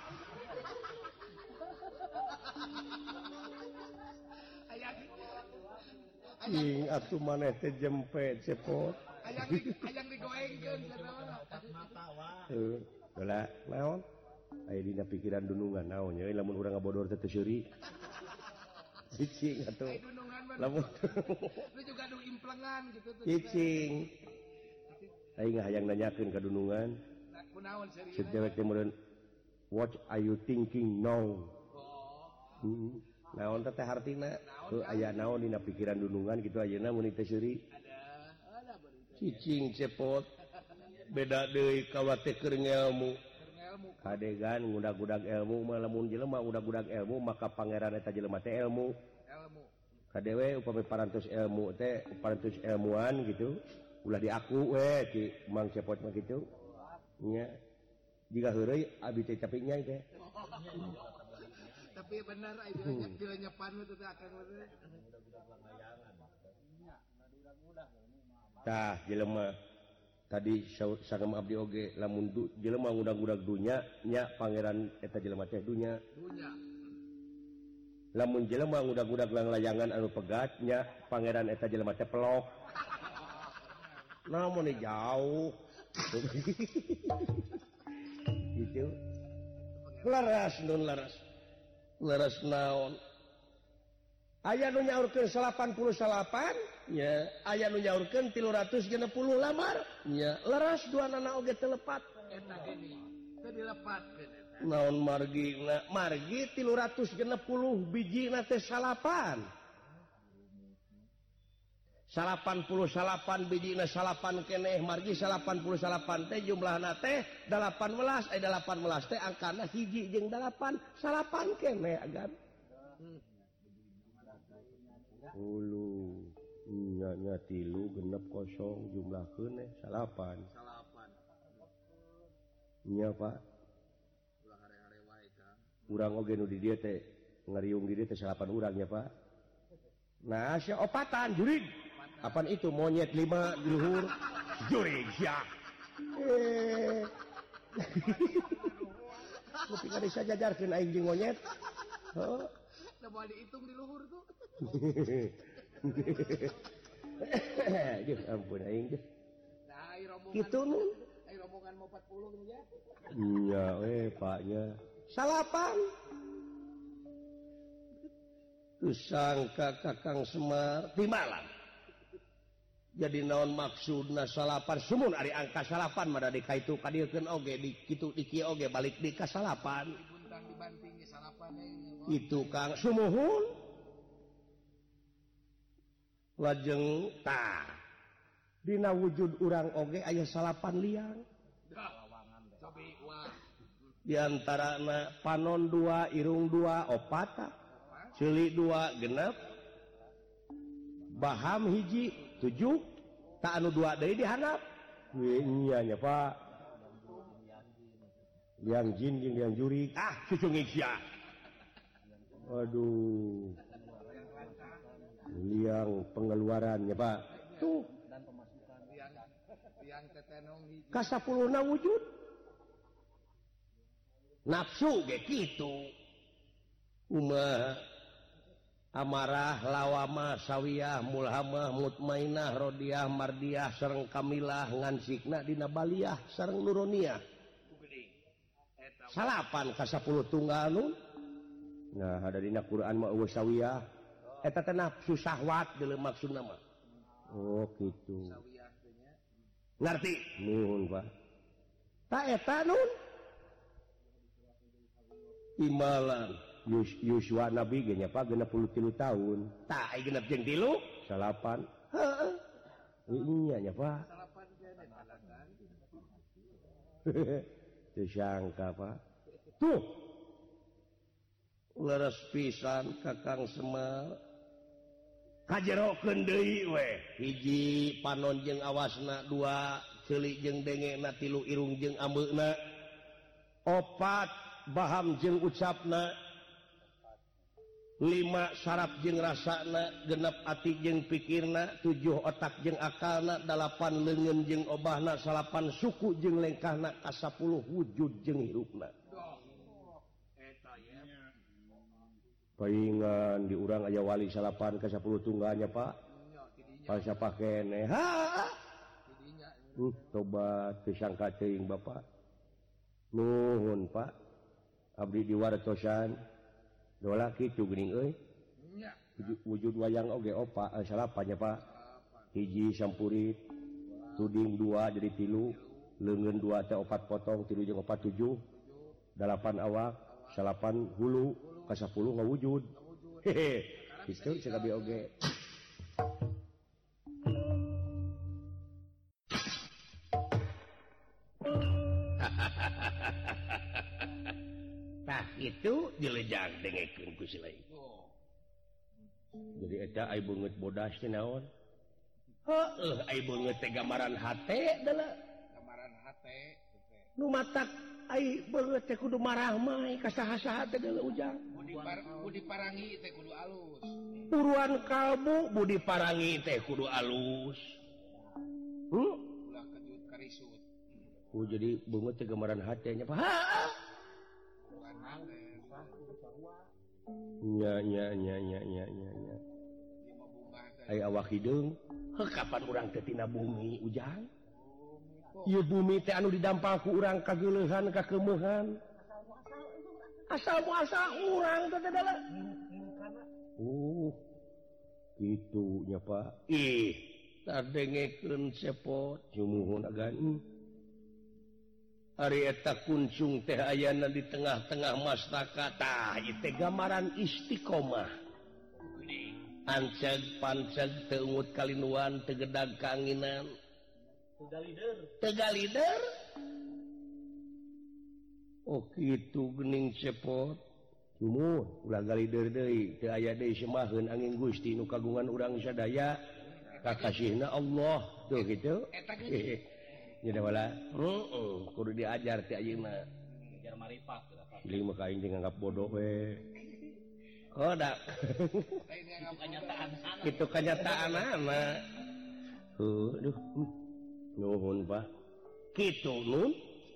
ing atuh maneh teh jempet cepot ayang ayang digoengkeun heuh heula naon aya dina pikiran dunungan naon nya lamun urang ngabodor teh teu seuri cicing atuh lamun lu juga nu implengan gitu tuh cicing aing hayang nanyakeun ka dunungan kunaon serius si cewek teh meureun what are you thinking now hmm. Naon teh hartina heuh aya naon dina pikiran dunungan kitu ayeuna mun teh seuri cicing cepot beda deui kawa teh keur ngelmu kadegan ngudag-gudag ilmu mah lamun jelema udag-gudag ilmu maka pangeran eta jelema teh ilmu ilmu kadewe upami parantos ilmu teh parantos ilmuwan gitu ulah diaku we ti Mang Cepot mah kitu nya jika heureuy abi teh tapi nya teh tapi benar aya banyak gila nyepan teh akan tah jelema tadi sangem abdi oge lamun jelema ngudag-gudag dunya nya pangeran eta jelema teh dunya dunya lamun jelema ngudag-gudag layangan anu pegat nya pangeran eta jelema teh pelok namun jauh gitu laras nun laras laras naon aya nu nyaurkeun salapan puluh salapan nya aya nu nyaurkeun tilu ratus genep puluh lamar nya laras duanana oge teu lepat eta gini teu dilepatkeun eta naon margina margi tilu ratus genep puluh bijina teh salapan salapan puluh salapan bijina salapan keneh margi salapan puluh salapan teh jumlahna teh dalapan belas eh dalapan belas teh angkana hiji jeung dalapan salapan keneh agan ulu nya nya tilu genep kosong jumlahkeun teh salapan salapan nya Pak ulah hare-hare wae Kang urang oge nu di dieu teh ngariung di dieu teh salapan urang nya Pak nah sia opatan jurig apaan itu monyet lima di luhur jurig ya eh tapi kan bisa jajarkeun aing jeung monyet heuh da moal diitung di luhur tuh Duh ampun aing teh nah ai rombongan kitu nu ai rombongan mau empat puluh gitu ya iya we paknya salapan tusangka Kakang Semar di malam jadi naon maksudna salapan sumun ari angka salapan mah da dikaitu kadiekeun oge di kitu di kieu oge balik di ka salapan dibuntang dibanting ge salapan itu Kang sumuhun lajeng tah dina wujud urang oge aya salapan liang cobi wah di antarana panon dua irung dua opat ceulik dua genep baham hiji tujuh tak anu dua deui dihandap nya nya Pak liang jin jeung liang juri ah cucu ngisia aduh liang pengeluarannya Pak tuh liang liang tetenong hiji ka sapuluhna wujud nafsu ge kitu umaha amarah lawamah sawiyah mulhamah mutmainah rodiyah mardiyah sareng kamilah ngansikna dina baliyah sareng nuroniyah salapan ka sapuluh tunggal nu nah ada dina Quran mah eueuh sawiyah eta teh nafsu syahwat deuleu maksudna mah oh kitu sawiyah teh nya ngarti nuhun Pak ta eta nun imalan Yuswa Nabi ge nya Pak genep puluh tilu tahun tah ai genep jeung tilu salapan heeh iya nya Pak salapan teh dalagan teu sangka Pak tuh leres pisan Kakang Semar kajerokeun deui we hiji panon jeung awasna dua ceulik jeung dengena tilu irung jeung ambeuna opat baham jeung ucapna lima saraf jeung rasana, genep ati jeung pikirna, tujuh otak jeung akalna, dalapan leungeun jeung obahna, salapan suku jeung lengkahna, kasapuluh wujud jeung hirupna. Paingan di urang aya wali salapan ka sapuluh tungganya Pak. Pas siapa kene. Ha. Uh, tobat disangka teuing Bapak. Nuhun Pak. Abdi diwartosan. Dola kitu geuning euy. Wujud wayang oge opa salapannya Pak. Hiji sampurit. Tuding dua jadi tilu. Leungeun dua teh opat potong, tilu jeung opat tujuh. Dalapan awak, salapan hulu. Kasapuluh ngawujud. Hehe. Kitu sagabi oge. Tah itu dilejang dengekeun ku si lain. Jadi eta ai beungeut bodas teh naon? Heuh, ai beungeut teh gambaran hate deula. Gambaran hate. Nu matak ai beungeut teh kudu marah mah ka saha-saha teh deula ujang. Budi parangi teh kudu alus. Puruan kalbu budi parangi teh kudu alus. Hmm? Ulah kejut karisut. Oh jadi beungeut teh gambaran hate nya Pak. Nya nya nya nya nya nya nya. Ai awak hideung, heuh kapan urang teh tina bumi ujang? Ieu bumi teh anu didampal ku urang kageuleuhan kakeumehan. Asal muasal urang teh adalah. Oh. Kitu nya Pak. Ih, tadengekeun sepot jumuhun agan. Ari eta kuncung teh ayana di tengah-tengah mastaka tah ieu teh gambaran istiqomah. Anceg panceg teu ungut kalinuan teu gedag kaanginan. Teu galider. Teu galider. Oh kitu geuning cepot. Umur ulah galider deui, teu aya deui semaheun angin Gusti nu kagungan urang sadaya. Kakasihna Allah tuh kitu. Eta geus. Nya da wala. Heeh, kudu diajar ti ayeuna. Ajar marifat tah. Iling mah kaing nganggap bodoh we. Kodak. Itu kenyataan sana. Itu kenyataanana. Heuh, duh. Nuhun Pak. Kitu nun.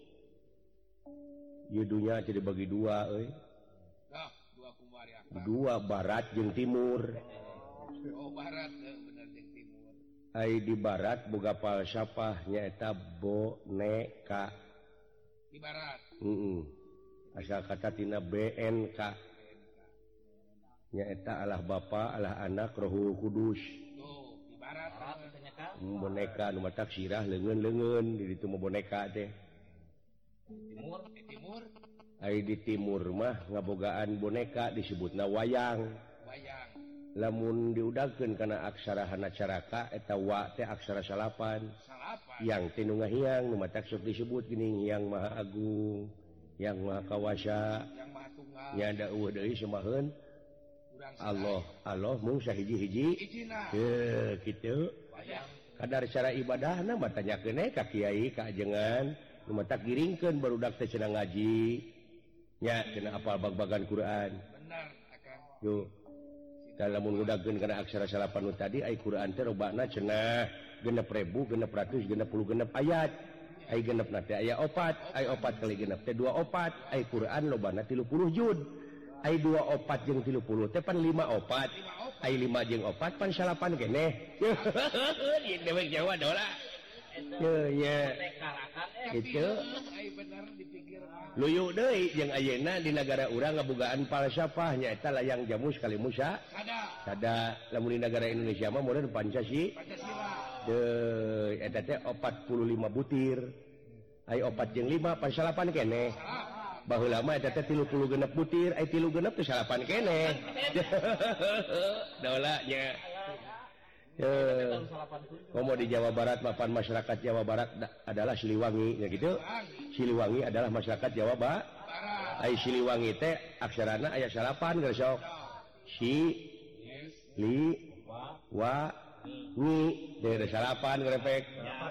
Ieu dunya jadi bagi dua euy. Nah, dua kumari apa? Dua barat jeung timur. Oh, barat bener jeung timur. Ai di barat boga falsafah nyaeta boneka. Di barat. Heeh. Asal kata tina B N K. Nyaeta Allah Bapa, Allah Anak, Rohul Kudus. Tuh, di barat katanya Kang. Boneka nu matak sirah leungeun-leungeun di ditu mah boneka teh. Timur, di timur. Ai di timur mah ngabogaan boneka disebutna wayang. Wayang. Lamun diudagkeun kana aksara hanacaraka eta wa teh aksara salapan. Salapan. Yang teh nu ngahiang nu matak sok disebut geuning Yang Maha Agung, Yang Maha Kawasa. Yang Maha Tunggal. Nya da eueuh deui semaheun Allah, Allah mung sahiji-hiji. Ijina. Teu kitu. Wayang. Kadar cara ibadahna mah tanyakeun we ka kiai ka ajengan nu matak giringkeun barudak teh cenah ngaji. Nya cenah apal bag-bagan Quran. Benar, Akang. Yo. Lamun ngudagkeun kana aksara salapan nu tadi ai Quran teh robana cenah genep ribu, genep ratus, genep puluh genep ayat. Ai genepna teh aya opat, ai opat kali genep teh dua opat, ai Quran lobana tilu puluh juz. Ai dua opat jeung tilu puluh teh pan lima opat. Ai lima jeung opat pan salapan keneh. Ieu dewek Jawa dola. Teu nya. Kitu. Ai bener dipikir. Luyu deui jeung ayeuna di nagara urang ngabogaan falsafah nyaeta layang jamu sekali Musa. Sada. Sada lamun di negara Indonesia mah modern Pancasila. Pancasila. Deui eta teh empat puluh lima butir. Ai opat jeung lima pan salapan keneh. Baheula mah eta teh tilu puluh genep butir, ai tilu genep teh salapan keneh. Daola nya. Eh, komo di Jawa Barat mapan masyarakat Jawa Barat adalah Siliwangi nya gitu. Siliwangi adalah masyarakat Jawa Barat. Ai Siliwangi teh aksarana aya salapan geus sok. Si li wa ni teh salapan ngrepek.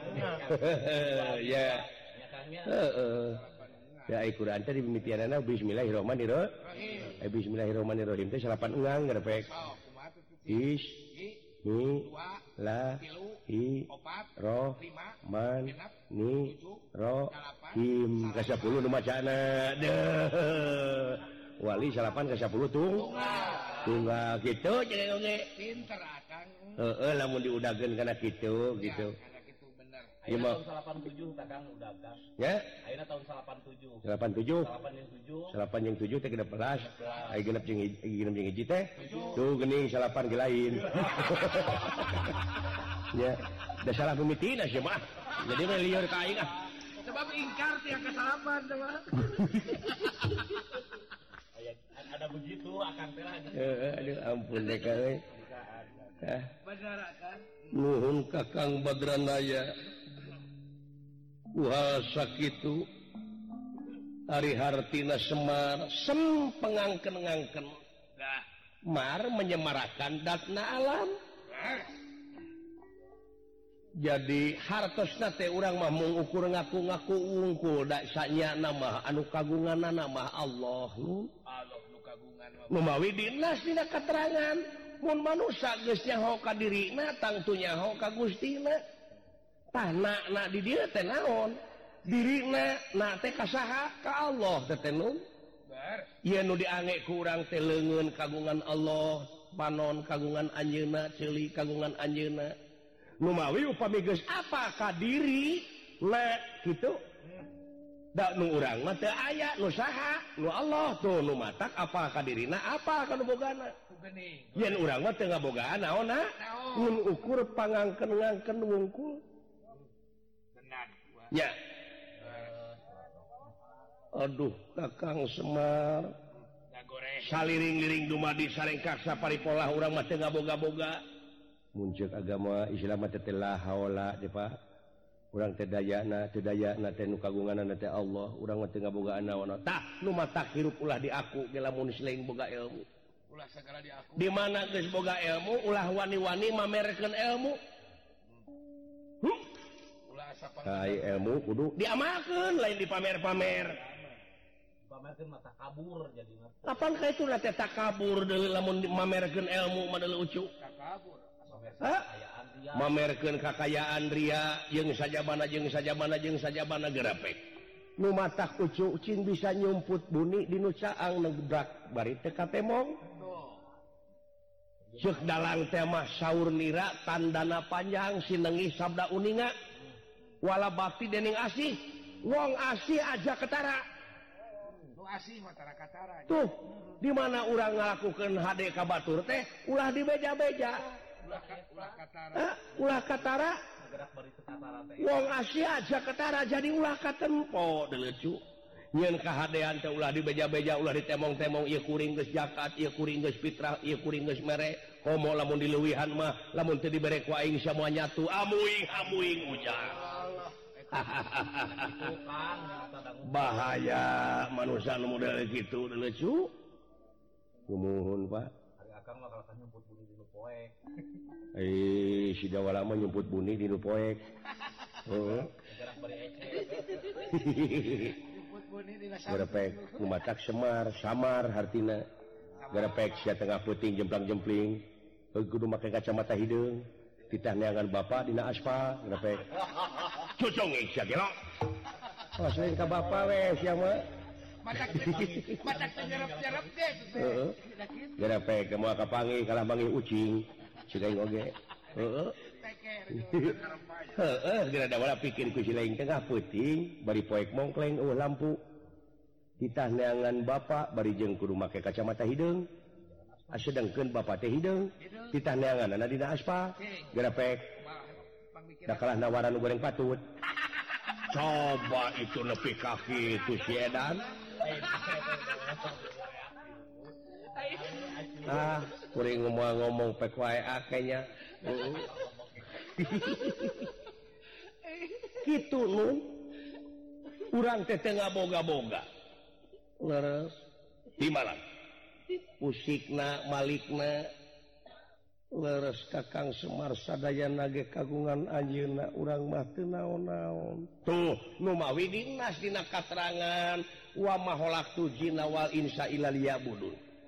Ya. Heeh. Ya Al-Qur'an teh dimimitianana bismillahirrahmanirrahim. eh, bismillahirrahmanirrahim teh salapan engang garepek Oh, kumaha tuh? is Hi, ni dua, la tilu, i opat, roh lima, man genep, ni tujuh, ro dalapan, him salapan. ka sepuluh nu macana deuh wali salapan ka sepuluh tung tunggal gitu jeung oge Pinter akang. heeh lamun diudageun kana kitu gitu Ya, kana kitu bener. Ieu mah tahun delapan puluh tujuh Kakang udah gas. ya Ayeuna tahun delapan puluh tujuh. delapan puluh tujuh delapan yang tujuh. salapan jeung tujuh teh genep belas aya genep jeung hiji genep jeung hiji teh tuh geuning salapan ge lain ya da salah pemitina sih mah jadi mah lieur ka aing ah Sebab ingkar tiap kesalahan tuh mah. Aya ada begitu akan teh lah. heeh aduh ampun deh ka euy ah Bener akang. nuhun Kakang Badranaya uha sakitu ari hartina Semar sem pengangken-ngangken Dah. mar menyemarakan datna alam jadi hartosna teh urang mah mung ukur ngaku-ngaku unggul da sanyana mah anu kagunganna mah Allah nu Allah nu kagungan mah. nu mawi dinas dina katerangan mun manusia geus nyaho ka dirina tangtu nyaho ka Gustina tah na di dieu teh naon dirina na teh ka saha ka Allah teh teh nu Ber. ieu nu diange ku urang teh leungeun kagungan Allah panon kagungan anjeunna ceuli kagungan anjeunna nu mawi upami geus apa ka diri na kitu da nu urang mah teu aya nu saha nu Allah tuh nu matak apa ka dirina apa ka nu bogana Geuning. yen urang mah teu ngabogaan naonna Naon? mun ukur pangangken-ngangken wungkul Benar. Wah. nya aduh Kakang Semar Da goreng. saliring-liring dumadi sarengkak saparipolah urang mah teu ngaboga-boga muncul agama Islam teh la haula teh Pak urang teh dayana teu dayana teh nu kagunganna teh Allah urang mah teu ngabogaan naon tah nu matak hirup ulah di aku ge lamun selain boga ilmu Ulah segala di aku. di mana geus boga ilmu ulah wani-wani mamerkeun ilmu hmm? Ulah asa ai ilmu kudu diamalkeun lain dipamer-pamer Pamerkeun mata kabur jadi mah. kapan ka itu teh takabur deui lamun mamerkeun ilmu mah deui ucu kabur. Hah? Kayaan dia. mamerkeun kakayaan ria jeung sajabana jeung sajabana jeung sajabana gerapek nu matak ucu cing bisa nyumput buni dinu caang negdak bari teu katemong ceuk dalang teh mah saur nira tandana panjang sinengi sabda uninga wala bakti dening asih wong asih aja ketara Nu asih mah tara katara. tuh di mana urang ngalakukeun hade ka batur teh ulah dibeja-beja Ulah ka- ulah katara. Hah? ulah katara Gerak bari teu katara teh. wong asih aja ketara jadi ulah katempo deleucu nyeun kahadean teh ulah dibeja-beja ulah ditemong-temong ieu kuring geus zakat ieu kuring geus fitrah ieu kuring geus mere komo lamun dileuwihan mah lamun teu dibere ku aing semua nyatu amuing amuing ujar Itu kan tanda bahaya manusia nu model kitu deleucu kumuhun Pak hari akang mah kalau nyumput buni dinu poek. eh si Jawa lama nyumput buni di nu poek heeh Gerak bari ece. Jemput buni di nasa. garepek kumatak Semar samar hartina garepek sia tengah puting jemplang-jempling heuh kudu make kacamata hideung titah neangan bapa dina aspal garepek cucunging sia gelo oh selain ka bapa we sia mah Matak matak nyerep-nyerep deh. heeh garepek moal kapangi kalah mangi ucing cigaing oge heeh Teker. heeh geura da wala pikir ku si laing tengah puting bari poek mongkleng eueuh lampu titah neangan bapa bari jeung kudu make kacamata hideung asedengkeun bapa teh hideung titah neanganna dina aspal garepek da kalah nawaran goreng patut coba itu nepi ka kitu si edan ah kuring ngomong-ngomong pek wae akenya heeh kitu nu urang teh teu ngaboga-boga leres di mana musikna malikna leres Kakang Semar sadayana ge kagungan anjeunna urang mah teu naon-naon tuh nu mawi dinas dina katerangan wa maholak tujina wal insa illa liyabudun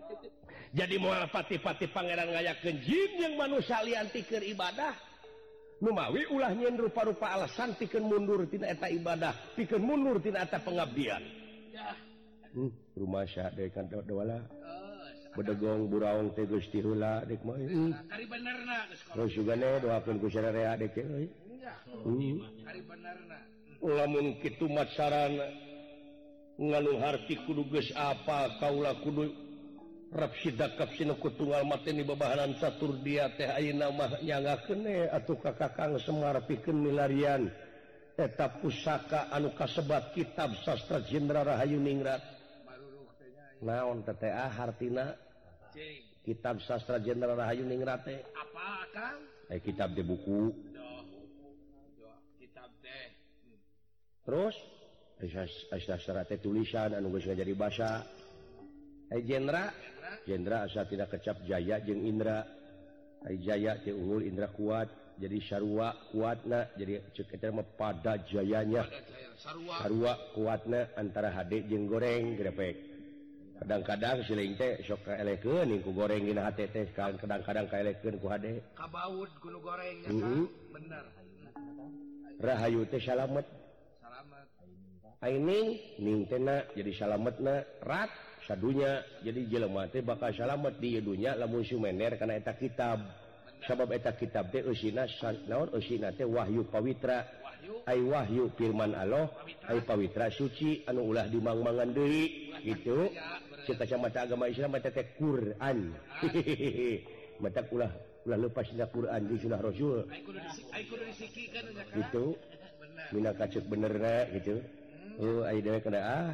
jadi moal pati-pati pangeran ngayakeun jin yang manusia liantikeun ibadah numawi ulah nyen rupa-rupa alasan pikeun mundur tina eta ibadah pikeun mundur tina eta pengabdian Ya. hmm, rumah sya deuk kan dewala Oh, bedegong buraung teh Gusti heula dek mah hmm. kari benerna geus kalau. Terus juga nih doakeun ku sadarea dek euy Enggak. hmm. Kari benerna. lamun kitu mat sarana nganu harti kudu geus apa kaula kudu rap sidakap sinuku tunggal mateni babahanan catur dia teh ayeuna mah nyangakeun we atuh ka Kakang Semar pikeun milarian eta pusaka anu kasebat kitab sastra Jenderal Rahayu Ningrat Baruruh teh nya. naon teh teh ah hartina Cing. kitab sastra Jenderal Rahayu Ningrat teh Apa Kang? eh kitab teh buku Doh. Doh, kitab teh. Hmm. terus eh sastra teh tulisan anu geus ngajadi basa eh Jenderal Jenderal asa tidak kecap Jaya jeung Indra ai Jaya teh unggul Indra kuat jadi sarua kuatna jadi ceuk eta mah pada jayanya Ada saya sarua. sarua kuatna antara hade jeung goreng grepek kadang-kadang siling teh sok kaelekeun ku goreng dina hate teh kadang-kadang kaelekeun ku hade Kabaud kuno goreng ya Mhm. Kang. Bener. rahayu teh salamet Salamat. aining ning teh na jadi salametna rat sadunya jadi jelema teh bakal salamet di dunya lamun sumener kana eta kitab sabab eta kitab teh eusina naon eusina teh wahyu pawitra Wahyu. ai wahyu firman Allah ai pawitra suci anu ulah dimangmangan deui gitu cek kacamata agama Islam eta teh Quran mata ulah ulah lepas dina Quran di sunnah Rasul Ai kudu disi ai kudu disikikeun ya Kang. gitu Bener. mina kacuk benerna gitu oh ai dewe kada ah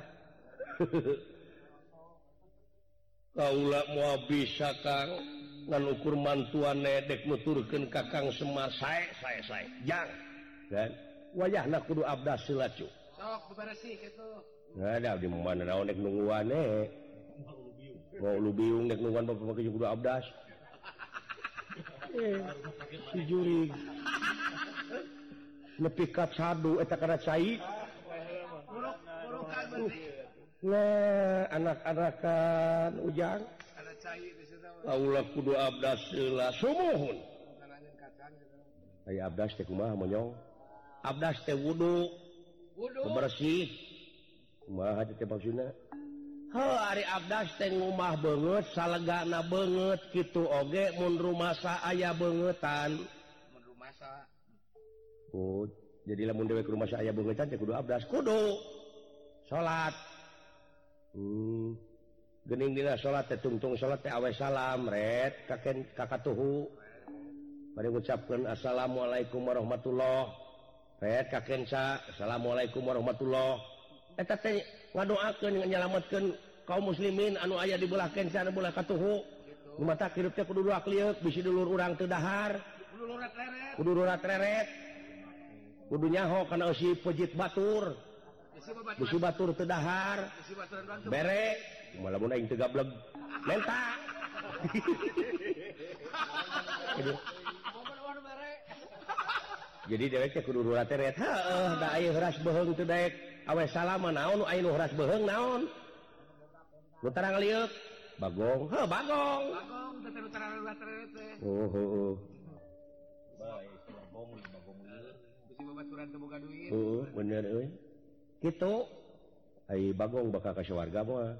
kaula moal bisa Kang ngan ukur mantuan nedek nuturkeun Kakang Semar sae sae sae jang kan wayahna kudu abdas heula cu Sok beberesih kitu. ada di mana naon nek nungguan eh mau lu biung nek nungguan bapak pakai kudu abdas eh si juri nepi ka sadu eta kana cai Buruk burukan berarti. nah anak-anakan ujang Ada cai di situ. kaula kudu abdas heula sumuhun Karangan kacang gitu. aya abdas teh kumaha monyong abdas teh wudu Wudu. bersih kumaha teh maksudna heuh ari abdas teh ngumah beungeut salegana beungeut kitu oge mun rumasa aya beungetan Mun rumasa. oh jadi lamun dewe ke rumasa aya beungetan teh kudu abdas kudu salat hmm geuning dina salat teh tungtung salat teh awe salam ret kaken kakatuhu bari ngucapkeun assalamualaikum warahmatullah ret kakenca assalamualaikum warahmatullah eta teh ngadoakeun nyalametkeun kaum muslimin anu aya di belah kenca anu belah katuhu nu mata hirup teh kudu duak liuk bisi dulur urang teu dahar Kudu lurat leret. kudu durat reret kudu nyaho kana eusi pejit batur Isi babaturan. bisi batur teu dahar Isi baturan bantu. bere malah mun aing teu gablek menta Jadi, Momen-momen bare. jadi dewek teh kudu durat reret heuh da aya heuras beheung teu daek awe salama naon nu aya nu heuras beheung naon nu tarang liuk bagong heuh bagong Bagong teh teh utara lurat leret teh. oh heuh Baik, bagong, bagong lieur. Isi babaturan teu boga duit. heuh bener euy kitu ai bagong bakal ka warga mah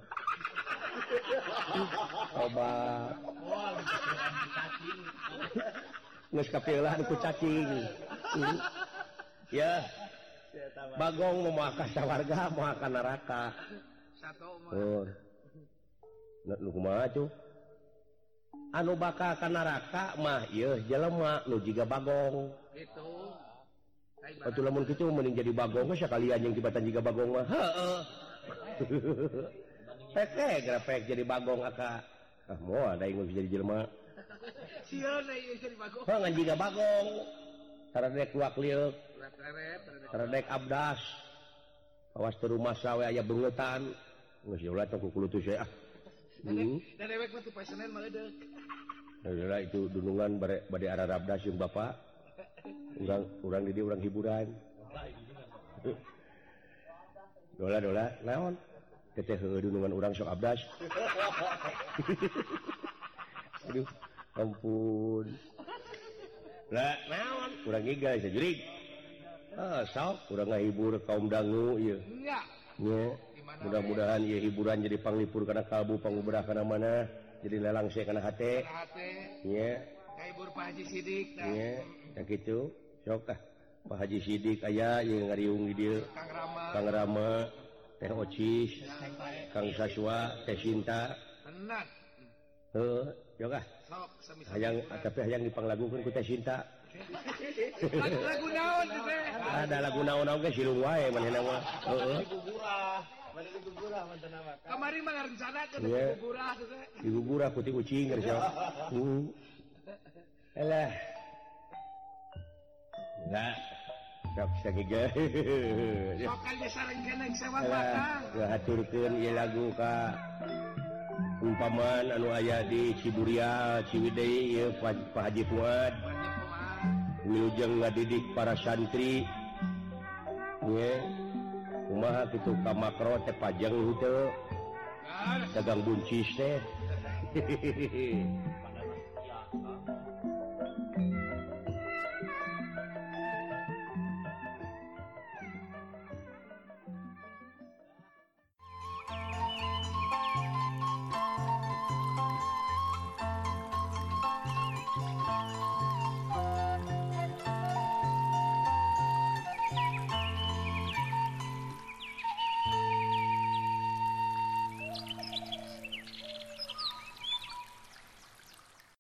coba Wah, cacing. geus kapeulah ku cacing Hmm. ya bagong mau ka warga mau ka neraka Satu mah. oh nu kumaha tuh anu bakal ka neraka mah ieu jelema nu jiga bagong Gitu. atuh lamun kitu mending jadi bagong geus sakalian jeung tibatan jiga bagong mah heueuh peke grepek jadi bagong aka ah moal da ingin jadi jelema Sieun ieu jadi bagong. heuh ngan jiga bagong taradek luak liuk Lurat leret. taradek abdas awas teu rumah sawe aya beungetan geus ulah tong ku kulutus we ah hmm. Dan dewek mah teu poe Senin mah eudeuh. Adalah itu dunungan bare bade ararabdas jeung bapak urang urang di dieu urang hiburan dola dola naon Teteh heudeung dengan urang sok abdas. Aduh, ampun. Lah, naon? Urang gigal sajurig. Ah, sok urang ngahibur kaum dangu ieu. Enggak. Nya. Mudah-mudahan ieu hiburan jadi panglipur kana kalbu panguberah kana mana. Jadi lelang saya kana hate. Kana hate. Nya. Ngahibur Pak Haji Sidik tah. Nya, da kitu. Sok ah. Pak Haji Sidik aya ieu ngariung di dieu. Kang Rama. Kang Rama, Teh Ocis, Kang Saswa, Teh Sinta. Tenan. Heuh, yok ah. Sok sami-sami. Hayang tapi hayang dipanglagukeun ku Teh Sinta. Lagu naon teh? Ada lagu naon-naon ge silung wae manehna mah. Heeh. Gugurah, mana gugurah mantan nama. Kamari mah ngarencanakeun Iya. gugurah teh. Digugurah ku ti kucing geus ya. Hmm. Alah. Enggak. Sok sagiga. Sok aja sareng keneng sewa Alah, batang. ngahaturkeun ieu lagu ka umpaman anu aya di Ciburia, Ciwidey ieu Pak Pak Haji Fuad. Wilujeng ngadidik para santri. Ye. Kumaha kitu ka makro teh pajang henteu. Dagang buncis teh.